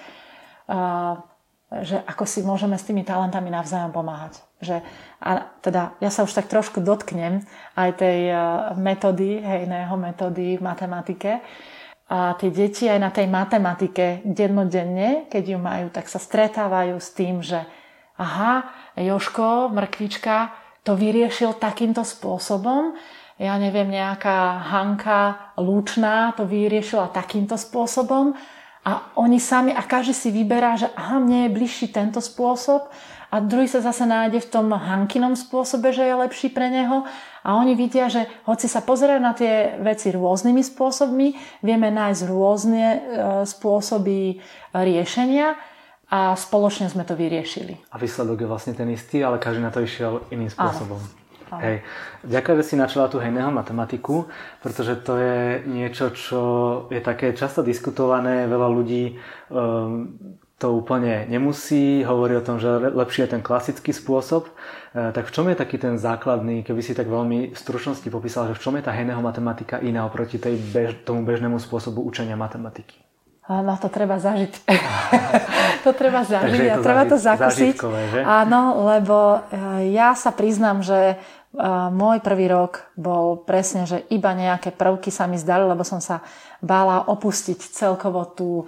[SPEAKER 2] že ako si môžeme s tými talentami navzájom pomáhať. A teda ja sa už tak trošku dotknem aj tej metódy v matematike. A tie deti aj na tej matematike dennodenne, keď ju majú, tak sa stretávajú s tým, že aha, Jožko, mrkvička, to vyriešil takýmto spôsobom. Ja neviem, nejaká Hanka Lúčná to vyriešila takýmto spôsobom. A oni sami, a každý si vyberá, že aha, mne je bližší tento spôsob a druhý sa zase nájde v tom Hankinom spôsobe, že je lepší pre neho. A oni vidia, že hoci sa pozerajú na tie veci rôznymi spôsobmi, vieme nájsť rôzne spôsoby riešenia a spoločne sme to vyriešili.
[SPEAKER 1] A výsledok je vlastne ten istý, ale každý na to išiel iným spôsobom. Hej. Ďakujem, že si načala tú hejného matematiku, pretože to je niečo, čo je také často diskutované. Veľa ľudí to úplne nemusí, hovorí o tom, že lepší je ten klasický spôsob. Tak v čom je taký ten základný, keby si tak veľmi v stručnosti popísal, že v čom je tá hejného matematika iná oproti tomu bežnému spôsobu učenia matematiky?
[SPEAKER 2] No to treba zažiť. To treba zažiť a treba to zakúsiť. Áno, lebo ja sa priznám, že môj prvý rok bol presne, že iba nejaké prvky sa mi zdali, lebo som sa bála opustiť celkovo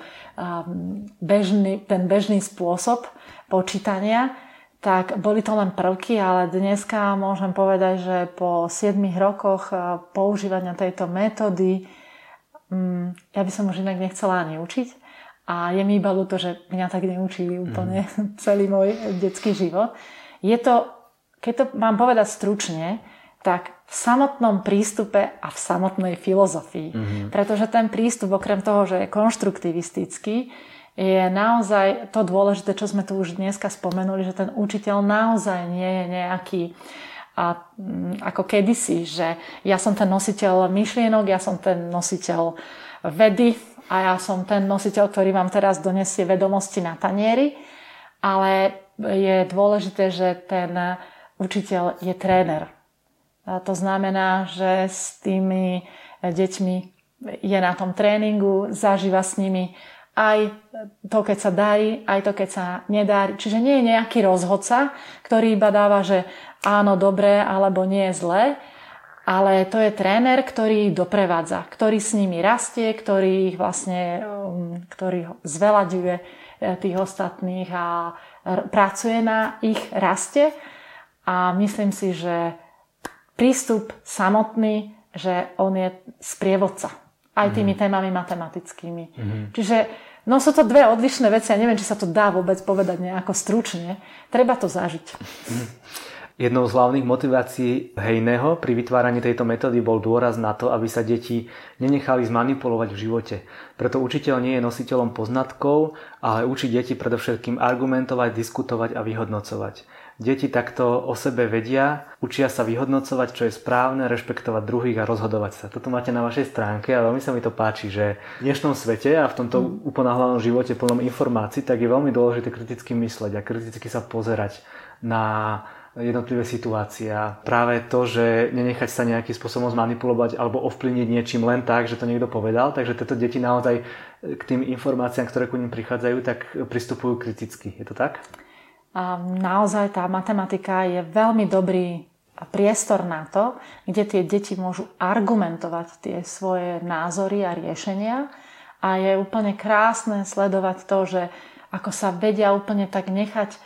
[SPEAKER 2] ten bežný spôsob počítania. Tak boli to len prvky, ale dneska môžem povedať, že po 7 rokoch používania tejto metódy ja by som už inak nechcela ani učiť. A je mi iba ľúto, že mňa tak neučili úplne celý môj detský život. Je to, keď to mám povedať stručne, tak v samotnom prístupe a v samotnej filozofii. Pretože ten prístup, okrem toho, že je konštruktivistický, je naozaj to dôležité, čo sme tu už dneska spomenuli, že ten učiteľ naozaj nie je nejaký ako kedysi, že ja som ten nositeľ myšlienok, ja som ten nositeľ vedy a ja som ten nositeľ, ktorý vám teraz donesie vedomosti na tanieri, ale je dôležité, že ten učiteľ je tréner. A to znamená, že s tými deťmi je na tom tréningu, zažíva s nimi aj to, keď sa darí, aj to, keď sa nedarí. Čiže nie je nejaký rozhodca, ktorý iba dáva, že áno, dobre, alebo nie je zlé, ale to je tréner, ktorý ich doprevádza, ktorý s nimi rastie, ktorý ich vlastne, ktorý zveľaďuje tých ostatných a pracuje na ich raste. A myslím si, že prístup samotný, že on je sprievodca aj tými témami matematickými. Čiže no sú to dve odlišné veci a neviem, či sa to dá vôbec povedať nejako stručne. Treba to zažiť.
[SPEAKER 1] Jednou z hlavných motivácií Hejného pri vytváraní tejto metódy bol dôraz na to, aby sa deti nenechali zmanipulovať v živote. Preto učiteľ nie je nositeľom poznatkov, ale učí deti predovšetkým argumentovať, diskutovať a vyhodnocovať. Deti takto o sebe vedia, učia sa vyhodnocovať, čo je správne, rešpektovať druhých a rozhodovať sa. Toto máte na vašej stránke a veľmi sa mi to páči, že v dnešnom svete a v tomto uponáhlanom živote plnom informácií, tak je veľmi dôležité kriticky mysleť a kriticky sa pozerať na jednotlivé situácie. Práve to, že nenechať sa nejakým spôsobom zmanipulovať alebo ovplyvniť niečím len tak, že to niekto povedal, takže tieto deti naozaj k tým informáciám, ktoré ku nim prichádzajú, tak pristupujú kriticky. Je to tak?
[SPEAKER 2] A naozaj tá matematika je veľmi dobrý priestor na to, kde tie deti môžu argumentovať tie svoje názory a riešenia. A je úplne krásne sledovať to, že ako sa vedia úplne tak nechať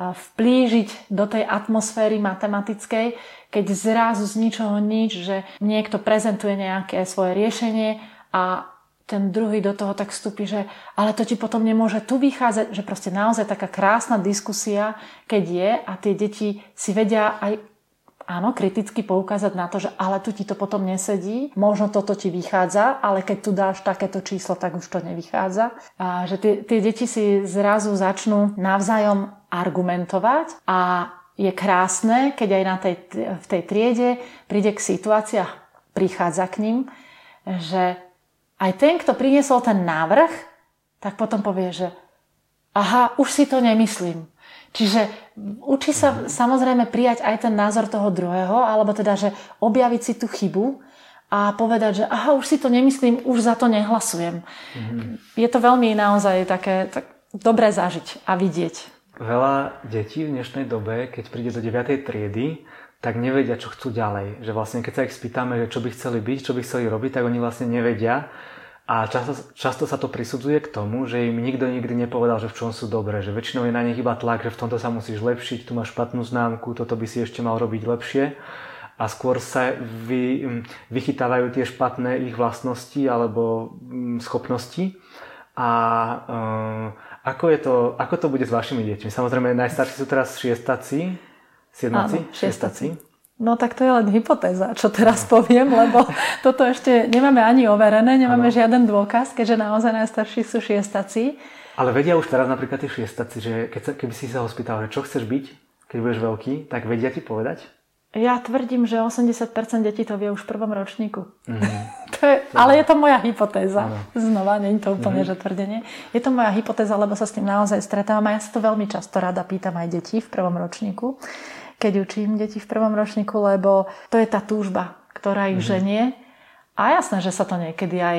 [SPEAKER 2] vplížiť do tej atmosféry matematickej, keď zrazu z ničoho nič, že niekto prezentuje nejaké svoje riešenie a ten druhý do toho tak vstúpi, že ale to ti potom nemôže tu vychádzať, že proste naozaj taká krásna diskusia, keď je a tie deti si vedia aj áno, kriticky poukázať na to, že ale tu ti to potom nesedí, možno toto ti vychádza, ale keď tu dáš takéto číslo, tak už to nevychádza. A že tie deti si zrazu začnú navzájom argumentovať a je krásne, keď aj v tej triede príde k situácii a prichádza k ním, že aj ten, kto priniesol ten návrh, tak potom povie, že aha, už si to nemyslím. Čiže učí sa samozrejme prijať aj ten názor toho druhého, alebo teda, že objaviť si tú chybu a povedať, že aha, už si to nemyslím, už za to nehlasujem. Je to veľmi naozaj také dobré zažiť a vidieť.
[SPEAKER 1] Veľa detí v dnešnej dobe, keď príde do 9. triedy, tak nevedia, čo chcú ďalej. Že vlastne, keď sa ich spýtame, že čo by chceli byť, čo by chceli robiť, tak oni vlastne nevedia. A často sa to prisudzuje k tomu, že im nikto nikdy nepovedal, že v čom sú dobré. Že väčšinou je na nich iba tlak, že v tomto sa musíš lepšiť, tu máš špatnú známku, toto by si ešte mal robiť lepšie. A skôr sa vychytávajú tie špatné ich vlastnosti alebo schopnosti. A ako to bude s vašimi deťmi? Samozrejme, najstarší sú teraz šiestaci, siedmaci?
[SPEAKER 2] Áno, šiestaci. No tak to je len hypotéza, čo teraz poviem, lebo toto ešte nemáme ani overené, nemáme žiaden dôkaz, keďže naozaj najstarší sú šiestaci.
[SPEAKER 1] Ale vedia už teraz napríklad tí šiestaci, že keby si sa ho spýtal, že čo chceš byť, keď budeš veľký, tak vedia ti povedať?
[SPEAKER 2] Ja tvrdím, že 80% detí to vie už v prvom ročníku. Ale je to moja hypotéza. Znova, nie je to úplne že tvrdenie. Je to moja hypotéza, lebo sa s tým naozaj stretávam a ja sa to veľmi často rada pýtam aj detí v prvom ročníku, keď učím deti v prvom ročníku, lebo to je tá túžba, ktorá ich ženie. A jasné, že sa to niekedy aj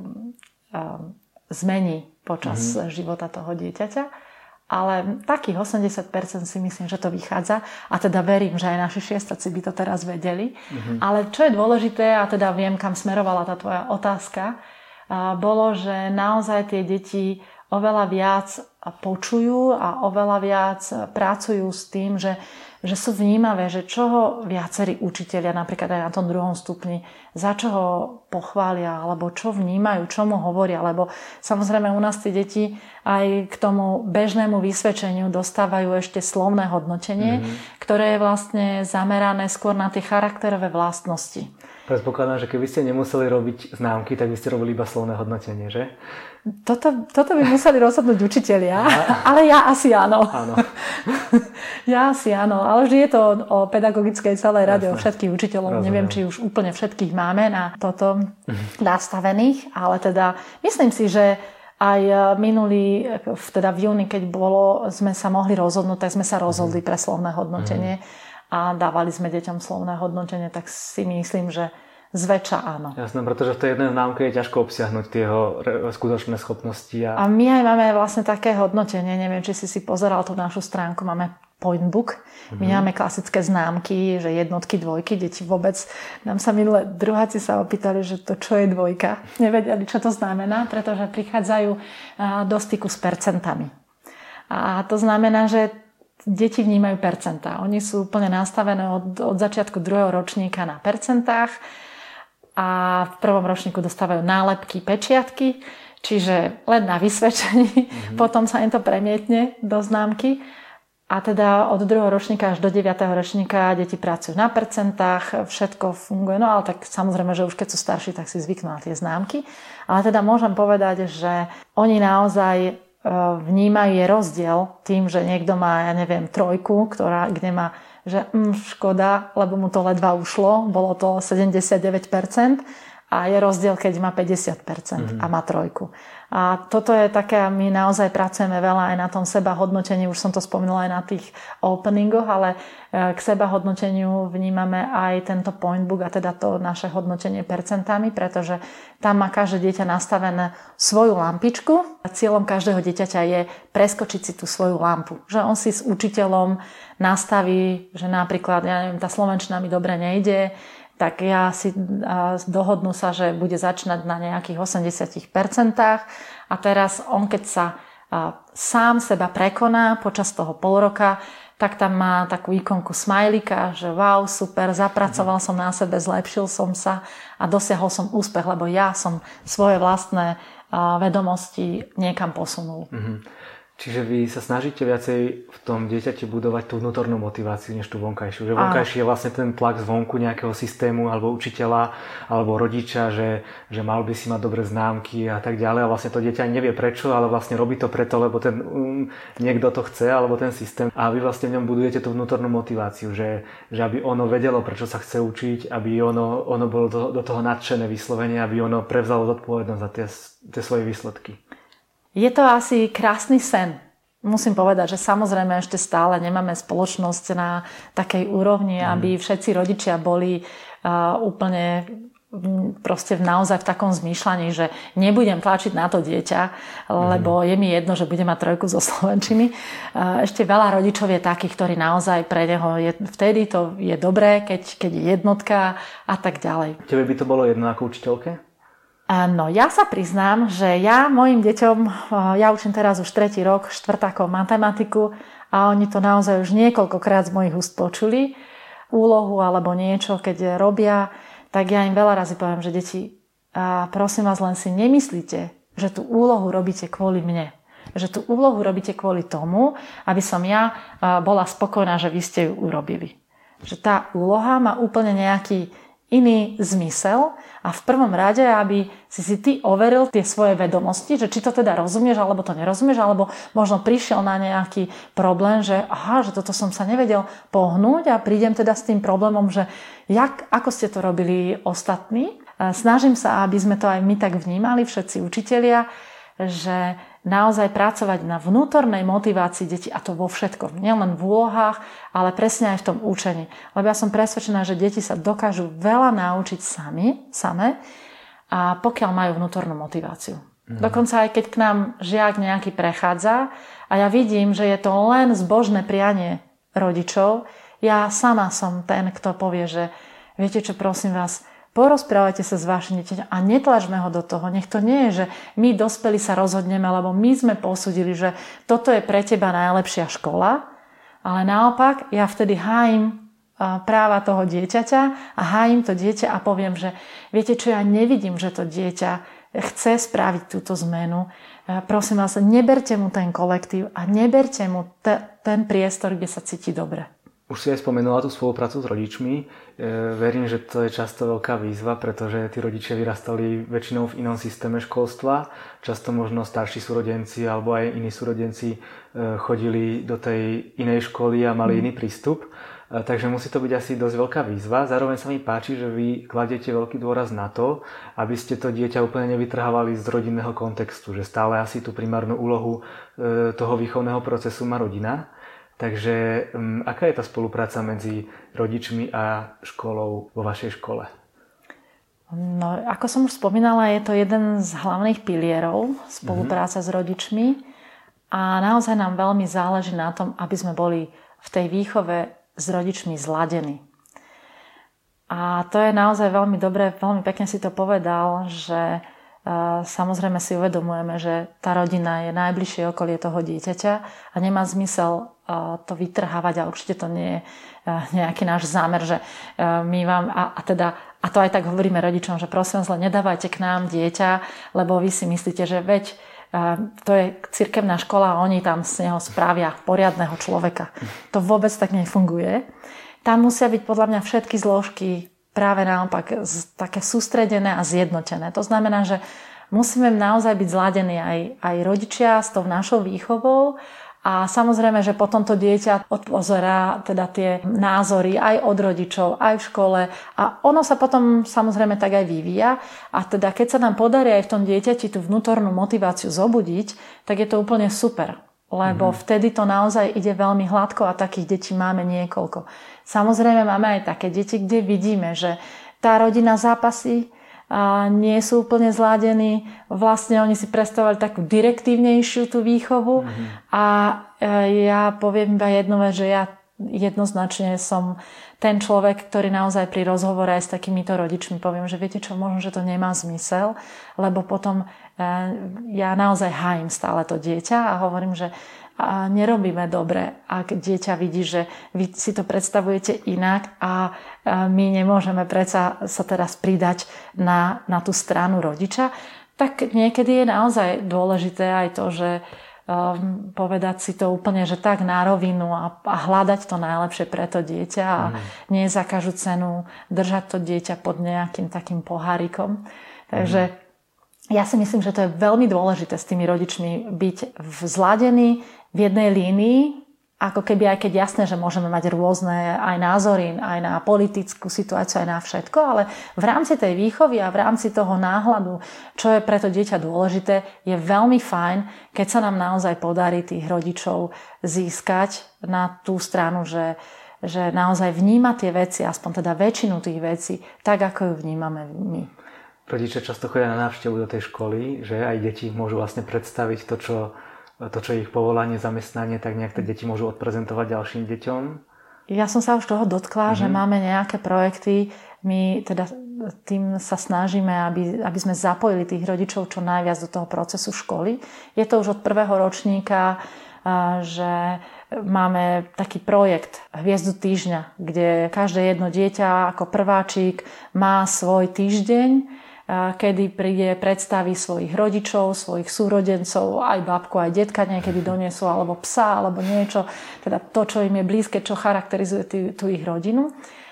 [SPEAKER 2] zmení počas života toho dieťaťa. Ale takých 80% si myslím, že to vychádza. A teda verím, že aj naši šiestaci by to teraz vedeli. Ale čo je dôležité, a teda viem, kam smerovala tá tvoja otázka, bolo, že naozaj tie deti oveľa viac počujú a oveľa viac pracujú s tým, že sú vnímavé, že čoho viacerí učitelia, napríklad aj na tom druhom stupni, za čo ho pochvália, alebo čo vnímajú, čo mu hovoria, lebo samozrejme u nás tie deti aj k tomu bežnému vysvedčeniu dostávajú ešte slovné hodnotenie, ktoré je vlastne zamerané skôr na tie charakterové vlastnosti.
[SPEAKER 1] Predpokladám, že keby ste nemuseli robiť známky, tak by ste robili iba slovné hodnotenie, že?
[SPEAKER 2] Toto by museli rozhodnúť učitelia, ale ja asi áno. Ja asi áno, ale vždy je to o pedagogickej celej rade, o všetkých učiteľov. Neviem, či už úplne všetkých máme na toto nastavených, ale teda myslím si, že aj minulý, teda v júni, keď sme sa mohli rozhodnúť, tak sme sa rozhodli pre slovné hodnotenie a dávali sme deťom slovné hodnotenie, tak si myslím, že zväčša áno.
[SPEAKER 1] Jasné, pretože v tej jednej známke je ťažko obsiahnuť tie jeho skutočné schopnosti.
[SPEAKER 2] A my aj máme vlastne také hodnotenie, neviem, či si pozeral tú našu stránku, máme point book. My máme klasické známky, že jednotky, dvojky, deti vôbec. Nám sa minulé druháci sa opýtali, že to čo je dvojka. Nevedeli, čo to znamená, pretože prichádzajú do styku s percentami. A to znamená, že deti vnímajú percentá. Oni sú úplne nastavené od začiatku druhého ročníka na percentách a v prvom ročníku dostávajú nálepky, pečiatky, čiže len na vysvedčení. Potom sa im to premietne do známky. A teda od druhého ročníka až do 9. ročníka deti pracujú na percentách, všetko funguje. No ale tak samozrejme, že už keď sú starší, tak si zvyknú na tie známky. Ale teda môžem povedať, že oni naozaj vnímajú je rozdiel tým, že niekto má, ja neviem, 3, kde má, že škoda, lebo mu to ledva ušlo, bolo to 79%. A je rozdiel, keď má 50% a má 3. A toto je také, my naozaj pracujeme veľa aj na tom sebahodnotení, už som to spomínala aj na tých openingoch, ale k sebahodnoteniu vnímame aj tento point book a teda to naše hodnotenie percentami, pretože tam má každé dieťa nastavené svoju lampičku a cieľom každého dieťaťa je preskočiť si tú svoju lampu. Že on si s učiteľom nastaví, že napríklad, ja neviem, tá slovenčina mi dobre nejde, tak ja si dohodnú sa, že bude začínať na nejakých 80% a teraz on, keď sa sám seba prekoná počas toho pol roka, tak tam má takú ikonku smajlika, že wow, super, zapracoval som na sebe, zlepšil som sa a dosiahol som úspech, lebo ja som svoje vlastné vedomosti niekam posunul.
[SPEAKER 1] Čiže vy sa snažíte viacej v tom dieťati budovať tú vnútornú motiváciu, než tú vonkajšiu. Že vonkajší je vlastne ten tlak zvonku nejakého systému alebo učiteľa alebo rodiča, že mal by si mať dobré známky a tak ďalej. A vlastne to dieťa nevie prečo, ale vlastne robí to preto, lebo ten niekto to chce alebo ten systém. A vy vlastne v ňom budujete tú vnútornú motiváciu, že aby ono vedelo, prečo sa chce učiť, aby ono bolo do toho nadšené vyslovene, aby ono prevzalo zodpovednosť za tie svoje výsledky.
[SPEAKER 2] Je to asi krásny sen. Musím povedať, že samozrejme ešte stále nemáme spoločnosť na takej úrovni, aby všetci rodičia boli úplne proste naozaj v takom zmýšľaní, že nebudem tlačiť na to dieťa, lebo je mi jedno, že bude mať 3 zo slovenčiny. Ešte veľa rodičov je takých, ktorí naozaj pre neho vtedy to je dobré, keď je jednotka a tak ďalej.
[SPEAKER 1] Tebe by to bolo jedno ako učiteľke?
[SPEAKER 2] No, ja sa priznám, že ja mojim deťom, ja učím teraz už 3. rok štvrtákov matematiku a oni to naozaj už niekoľkokrát z mojich úst počuli, úlohu alebo niečo, keď robia, tak ja im veľa razy poviem, že deti, prosím vás, len si nemyslíte, že tú úlohu robíte kvôli mne. Že tú úlohu robíte kvôli tomu, aby som ja bola spokojná, že vy ste ju urobili. Že tá úloha má úplne nejaký iný zmysel a v prvom rade, aby si ty overil tie svoje vedomosti, že či to teda rozumieš, alebo to nerozumieš, alebo možno prišiel na nejaký problém, že že toto som sa nevedel pohnúť a prídem teda s tým problémom, že ako ste to robili ostatní. Snažím sa, aby sme to aj my tak vnímali, všetci učitelia, že naozaj pracovať na vnútornej motivácii detí a to vo všetkom. Nielen v úlohách, ale presne aj v tom učení. Lebo ja som presvedčená, že deti sa dokážu veľa naučiť same a pokiaľ majú vnútornú motiváciu. Dokonca aj keď k nám žiak nejaký prechádza a ja vidím, že je to len zbožné prianie rodičov, ja sama som ten, kto povie, že viete čo, prosím vás, porozprávajte sa s vašim dieťaťom a netlačme ho do toho. Nech to nie je, že my dospelí sa rozhodneme, lebo my sme posúdili, že toto je pre teba najlepšia škola, ale naopak ja vtedy hájim práva toho dieťaťa a hájim to dieťa a poviem, že viete čo, ja nevidím, že to dieťa chce spraviť túto zmenu. Prosím vás, neberte mu ten kolektív a neberte mu ten priestor, kde sa cíti dobre.
[SPEAKER 1] Už si aj spomenula tú spoluprácu s rodičmi. Verím, že to je často veľká výzva, pretože tí rodičia vyrastali väčšinou v inom systéme školstva. Často možno starší súrodenci alebo aj iní súrodenci chodili do tej inej školy a mali iný prístup. Takže musí to byť asi dosť veľká výzva. Zároveň sa mi páči, že vy kladiete veľký dôraz na to, aby ste to dieťa úplne nevytrhávali z rodinného kontextu. Že stále asi tú primárnu úlohu toho výchovného procesu má rodina. Takže aká je tá spolupráca medzi rodičmi a školou vo vašej škole?
[SPEAKER 2] No, ako som už spomínala, je to jeden z hlavných pilierov spolupráca s rodičmi a naozaj nám veľmi záleží na tom, aby sme boli v tej výchove s rodičmi zladení. A to je naozaj veľmi dobré, veľmi pekne si to povedal, že samozrejme si uvedomujeme, že tá rodina je najbližšie okolie toho dieťaťa a nemá zmysel to vytrhávať a určite to nie je nejaký náš zámer, že my vám a to aj tak hovoríme rodičom, že prosím vás, nedávajte k nám dieťa, lebo vy si myslíte, že veď to je cirkevná škola a oni tam z neho spravia poriadneho človeka. To vôbec tak nefunguje. Tam musia byť podľa mňa všetky zložky práve naopak také sústredené a zjednotené. To znamená, že musíme naozaj byť zladení aj rodičia s tou našou výchovou a samozrejme, že potom to dieťa odpozerá teda tie názory aj od rodičov, aj v škole a ono sa potom samozrejme tak aj vyvíja a teda keď sa nám podarí aj v tom dieťati tú vnútornú motiváciu zobudiť, tak je to úplne super. Lebo vtedy to naozaj ide veľmi hladko a takých detí máme niekoľko. Samozrejme máme aj také deti, kde vidíme, že tá rodina zápasí a nie sú úplne zladení. Vlastne oni si predstavovali takú direktívnejšiu tú výchovu a ja poviem iba jednu vec, že ja jednoznačne som ten človek, ktorý naozaj pri rozhovore aj s takýmito rodičmi poviem, že viete čo, možno, že to nemá zmysel, lebo potom ja naozaj hájim stále to dieťa a hovorím, že nerobíme dobre, ak dieťa vidí, že vy si to predstavujete inak a my nemôžeme predsa sa teraz pridať na tú stranu rodiča, tak niekedy je naozaj dôležité aj to, že povedať si to úplne, že tak na rovinu a hľadať to najlepšie pre to dieťa a nie za každú cenu držať to dieťa pod nejakým takým pohárikom. Takže ja si myslím, že to je veľmi dôležité s tými rodičmi byť zladení v jednej línii, ako keby aj keď jasné, že môžeme mať rôzne aj názory, aj na politickú situáciu, aj na všetko, ale v rámci tej výchovy a v rámci toho náhľadu, čo je pre to dieťa dôležité, je veľmi fajn, keď sa nám naozaj podarí tých rodičov získať na tú stranu, že naozaj vníma tie veci, aspoň teda väčšinu tých vecí, tak ako ju vnímame my.
[SPEAKER 1] Rodičia často chodia na návštevu do tej školy, že aj deti môžu vlastne predstaviť to, čo je ich povolanie, zamestnanie, tak nejak tie deti môžu odprezentovať ďalším deťom.
[SPEAKER 2] Ja som sa už toho dotkla, že máme nejaké projekty. My teda tým sa snažíme, aby sme zapojili tých rodičov čo najviac do toho procesu školy. Je to už od prvého ročníka, že máme taký projekt Hviezdu týždňa, kde každé jedno dieťa ako prváčik má svoj týždeň, kedy príde, predstaví svojich rodičov, svojich súrodencov, aj babku, aj detka niekedy donesú, alebo psa, alebo niečo, teda to, čo im je blízke, čo charakterizuje tú ich rodinu.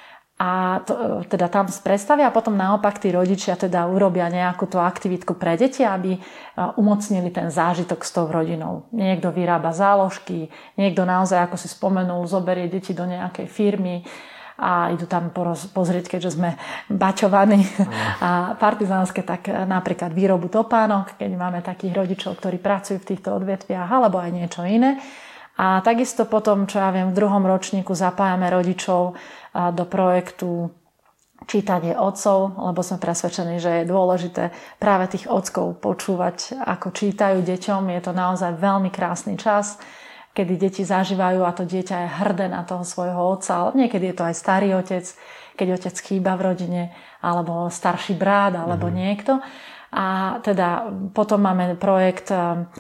[SPEAKER 2] A to, teda tam predstavia a potom naopak tí rodičia teda urobia nejakú tú aktivitku pre deti, aby umocnili ten zážitok s tou rodinou. Niekto vyrába záložky, niekto naozaj, ako si spomenul, zoberie deti do nejakej firmy a idú tam pozrieť, keďže sme baťovaní a partizánske, tak napríklad výrobu topánok, keď máme takých rodičov, ktorí pracujú v týchto odvetviach, alebo aj niečo iné. A takisto potom, čo ja viem, v druhom ročníku zapájame rodičov do projektu Čítanie otcov, lebo sme presvedčení, že je dôležité práve tých otcov počúvať, ako čítajú deťom. Je to naozaj veľmi krásny čas, kedy deti zažívajú a to dieťa je hrdé na toho svojho otca, ale niekedy je to aj starý otec, keď otec chýba v rodine, alebo starší brat, alebo niekto. A teda potom máme projekt,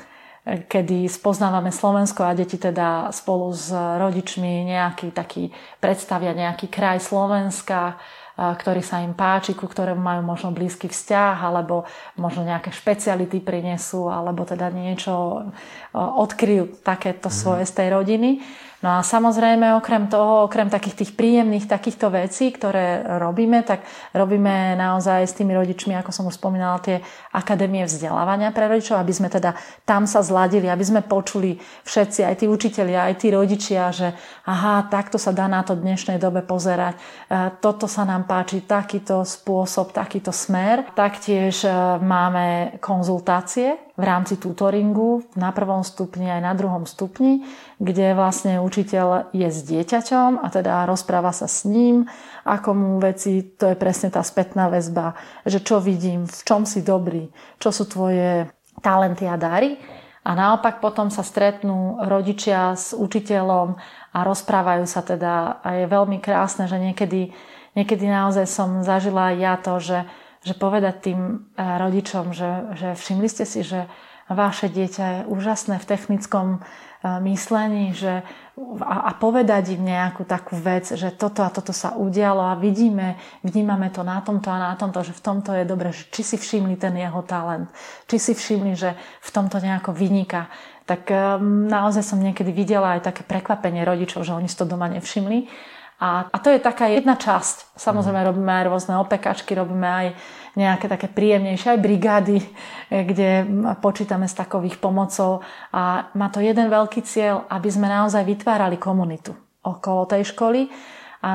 [SPEAKER 2] kedy spoznávame Slovensko a deti teda spolu s rodičmi nejaký taký predstavia nejaký kraj Slovenska, ktorý sa im páči, ku ktorému majú možno blízky vzťah, alebo možno nejaké špeciality prinesú, alebo teda niečo odkryjú takéto svoje z tej rodiny. No a samozrejme, okrem toho, okrem takých tých príjemných takýchto vecí, ktoré robíme, tak robíme naozaj s tými rodičmi, ako som už spomínala, tie akadémie vzdelávania pre rodičov, aby sme teda tam sa zladili, aby sme počuli všetci, aj tí učitelia, aj tí rodičia, že aha, takto sa dá na to v dnešnej dobe pozerať, toto sa nám páči, takýto spôsob, takýto smer. Taktiež máme konzultácie v rámci tutoringu na prvom stupni aj na druhom stupni, kde vlastne učiteľ je s dieťaťom a teda rozpráva sa s ním, ako mu veci, to je presne tá spätná väzba, že čo vidím, v čom si dobrý, čo sú tvoje talenty a dary. A naopak potom sa stretnú rodičia s učiteľom a rozprávajú sa teda. A je veľmi krásne, že niekedy naozaj som zažila aj ja to, že povedať tým rodičom, že všimli ste si, že vaše dieťa je úžasné v technickom myslení, a povedať im nejakú takú vec, že toto a toto sa udialo a vnímame to na tomto a na tomto, že v tomto je dobre, že či si všimli ten jeho talent, či si všimli, že v tomto nejako vyniká. Tak naozaj som niekedy videla aj také prekvapenie rodičov, že oni si to doma nevšimli. A to je taká jedna časť. Samozrejme robíme aj rôzne opekačky, robíme aj nejaké také príjemnejšie aj brigády, kde počítame s takových pomocou. A má to jeden veľký cieľ, aby sme naozaj vytvárali komunitu okolo tej školy a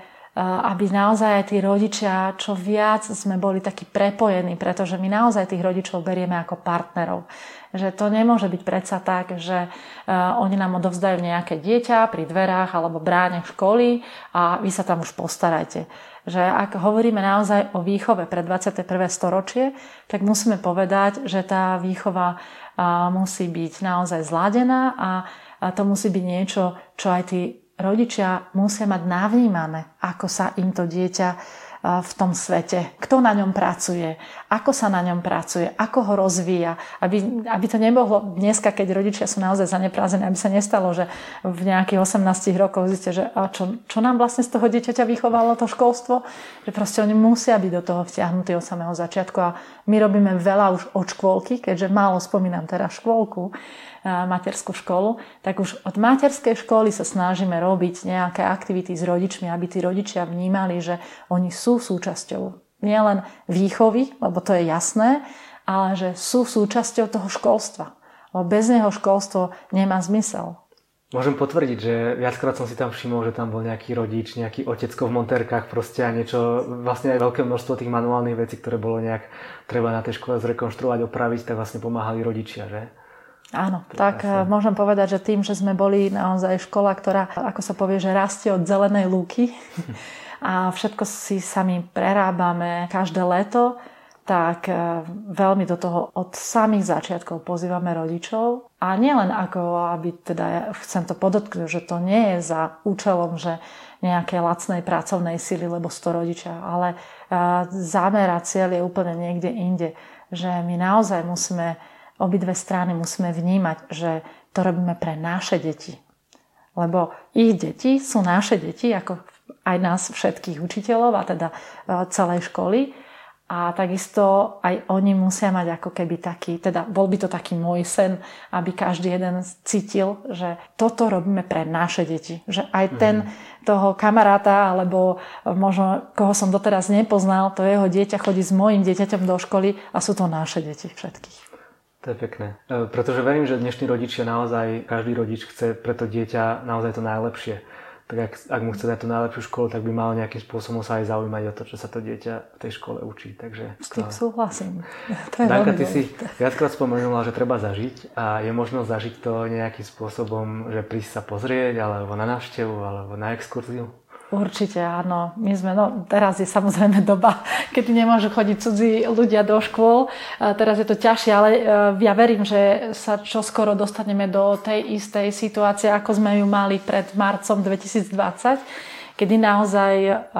[SPEAKER 2] aby naozaj aj tí rodičia, čo viac sme boli takí prepojení, pretože my naozaj tých rodičov berieme ako partnerov. Že to nemôže byť predsa tak, že oni nám odovzdajú nejaké dieťa pri dverách alebo bráne školy a vy sa tam už postarajte. Že ak hovoríme naozaj o výchove pre 21. storočie, tak musíme povedať, že tá výchova musí byť naozaj zladená a to musí byť niečo, čo aj tí rodičia musia mať navnímané, ako sa im to dieťa v tom svete, kto na ňom pracuje, ako sa na ňom pracuje, ako ho rozvíja, aby to nebolo dneska, keď rodičia sú naozaj zaneprázdnení, aby sa nestalo, že v nejakých 18 rokoch zistíte, že čo nám vlastne z toho dieťaťa vychovalo to školstvo, že proste oni musia byť do toho vtiahnutí od samého začiatku a my robíme veľa už od škôlky, keďže málo spomínam teraz škôlku, materskú školu, tak už od materskej školy sa snažíme robiť nejaké aktivity s rodičmi, aby tí rodičia vnímali, že oni sú súčasťou nielen výchovy, lebo to je jasné, ale že sú súčasťou toho školstva. Lebo bez neho školstvo nemá zmysel.
[SPEAKER 1] Môžem potvrdiť, že viackrát som si tam všimol, že tam bol nejaký rodič, nejaký otecko v montérkach proste a niečo, vlastne aj veľké množstvo tých manuálnych vecí, ktoré bolo nejak treba na tej škole zrekonštruovať, opraviť, tak vlastne pomáhali rodičia, že?
[SPEAKER 2] Áno, tak môžem povedať, že tým, že sme boli naozaj škola, ktorá, ako sa povie, že rastie od zelenej lúky a všetko si sami prerábame každé leto, tak veľmi do toho od samých začiatkov pozývame rodičov. A nielen ako, aby teda, chcem to podotknúť, že to nie je za účelom, že nejaké lacnej pracovnej sily, lebo 100 rodičia, ale zámer a cieľ je úplne niekde inde. Že my naozaj obidve strany musíme vnímať, že to robíme pre naše deti. Lebo ich deti sú naše deti, ako aj nás všetkých učiteľov a teda celej školy. A takisto aj oni musia mať ako keby taký, teda bol by to taký môj sen, aby každý jeden cítil, že toto robíme pre naše deti. Že aj toho kamaráta, alebo možno koho som doteraz nepoznal, to jeho dieťa chodí s mojím dieťaťom do školy a sú to naše deti všetkých.
[SPEAKER 1] To je pekné. Pretože verím, že dnešní rodičia naozaj, každý rodič chce pre to dieťa naozaj to najlepšie. Tak ak mu chce dať tú najlepšiu školu, tak by mal nejakým spôsobom sa aj zaujímať o to, čo sa to dieťa v tej škole učí. Takže
[SPEAKER 2] s tým súhlasím. To je
[SPEAKER 1] Danka, ty si viackrát spomenula, že treba zažiť a je možnosť zažiť to nejakým spôsobom, že prísť sa pozrieť, alebo na návštevu, alebo na exkurziu?
[SPEAKER 2] Určite áno. Teraz je samozrejme doba, kedy nemôžu chodiť cudzí ľudia do škôl. Teraz je to ťažšie, ale ja verím, že sa čoskoro dostaneme do tej istej situácie, ako sme ju mali pred marcom 2020, kedy naozaj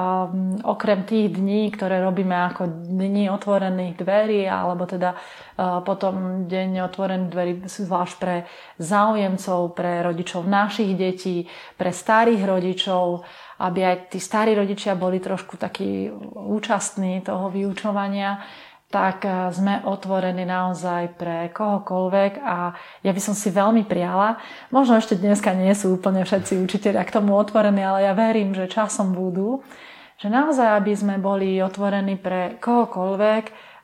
[SPEAKER 2] okrem tých dní, ktoré robíme ako dni otvorených dverí, alebo teda potom deň otvorených dverí zvlášť pre záujemcov, pre rodičov našich detí, pre starých rodičov, aby aj tí starí rodičia boli trošku takí účastní toho vyučovania, tak sme otvorení naozaj pre kohokoľvek a ja by som si veľmi priala, možno ešte dneska nie sú úplne všetci učitelia k tomu otvorení, ale ja verím, že časom budú, že naozaj, aby sme boli otvorení pre kohokoľvek,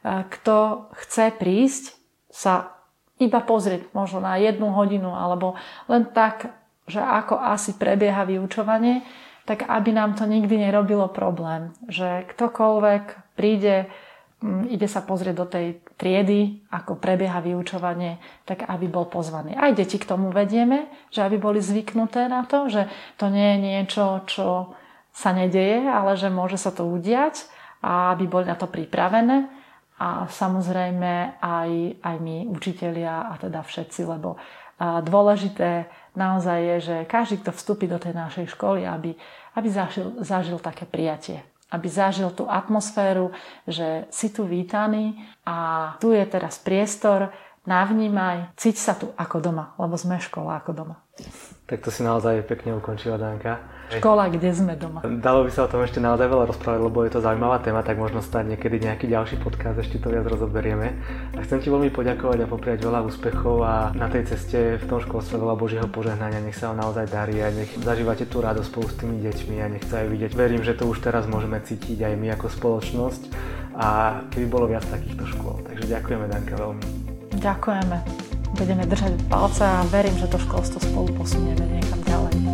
[SPEAKER 2] kto chce prísť sa iba pozrieť možno na 1 hodinu alebo len tak, že ako asi prebieha vyučovanie, tak aby nám to nikdy nerobilo problém. Že ktokoľvek príde, ide sa pozrieť do tej triedy, ako prebieha vyučovanie, tak aby bol pozvaný. Aj deti k tomu vedieme, že aby boli zvyknuté na to, že to nie je niečo, čo sa nedeje, ale že môže sa to udiať a aby boli na to pripravené. a samozrejme aj my, učitelia a teda všetci, lebo dôležité naozaj je, že každý, kto vstúpi do tej našej školy, aby zažil také prijatie. Aby zažil tú atmosféru, že si tu vítaný a tu je teraz priestor, navnímaj, cíť sa tu ako doma, lebo sme škola ako doma.
[SPEAKER 1] Tak to si naozaj pekne ukončila, Danka.
[SPEAKER 2] Škola, kde sme doma.
[SPEAKER 1] Dalo by sa o tom ešte naozaj veľa rozprávať, lebo je to zaujímavá téma, tak možno stať niekedy nejaký ďalší podcast, ešte to viac rozoberieme. A chcem ti veľmi poďakovať a popriať veľa úspechov a na tej ceste v tom školstve veľa Božieho požehnania, nech sa vám naozaj darí a nech zažívate tú radosť spolu s tými deťmi a nech sa aj vidieť. Verím, že to už teraz môžeme cítiť aj my ako spoločnosť a keby bolo viac takýchto škôl. Takže ďakujeme, Danka, veľmi.
[SPEAKER 2] Ďakujeme. Budeme držať palce a verím, že to školstvo spolu posunieme niekam ďalej.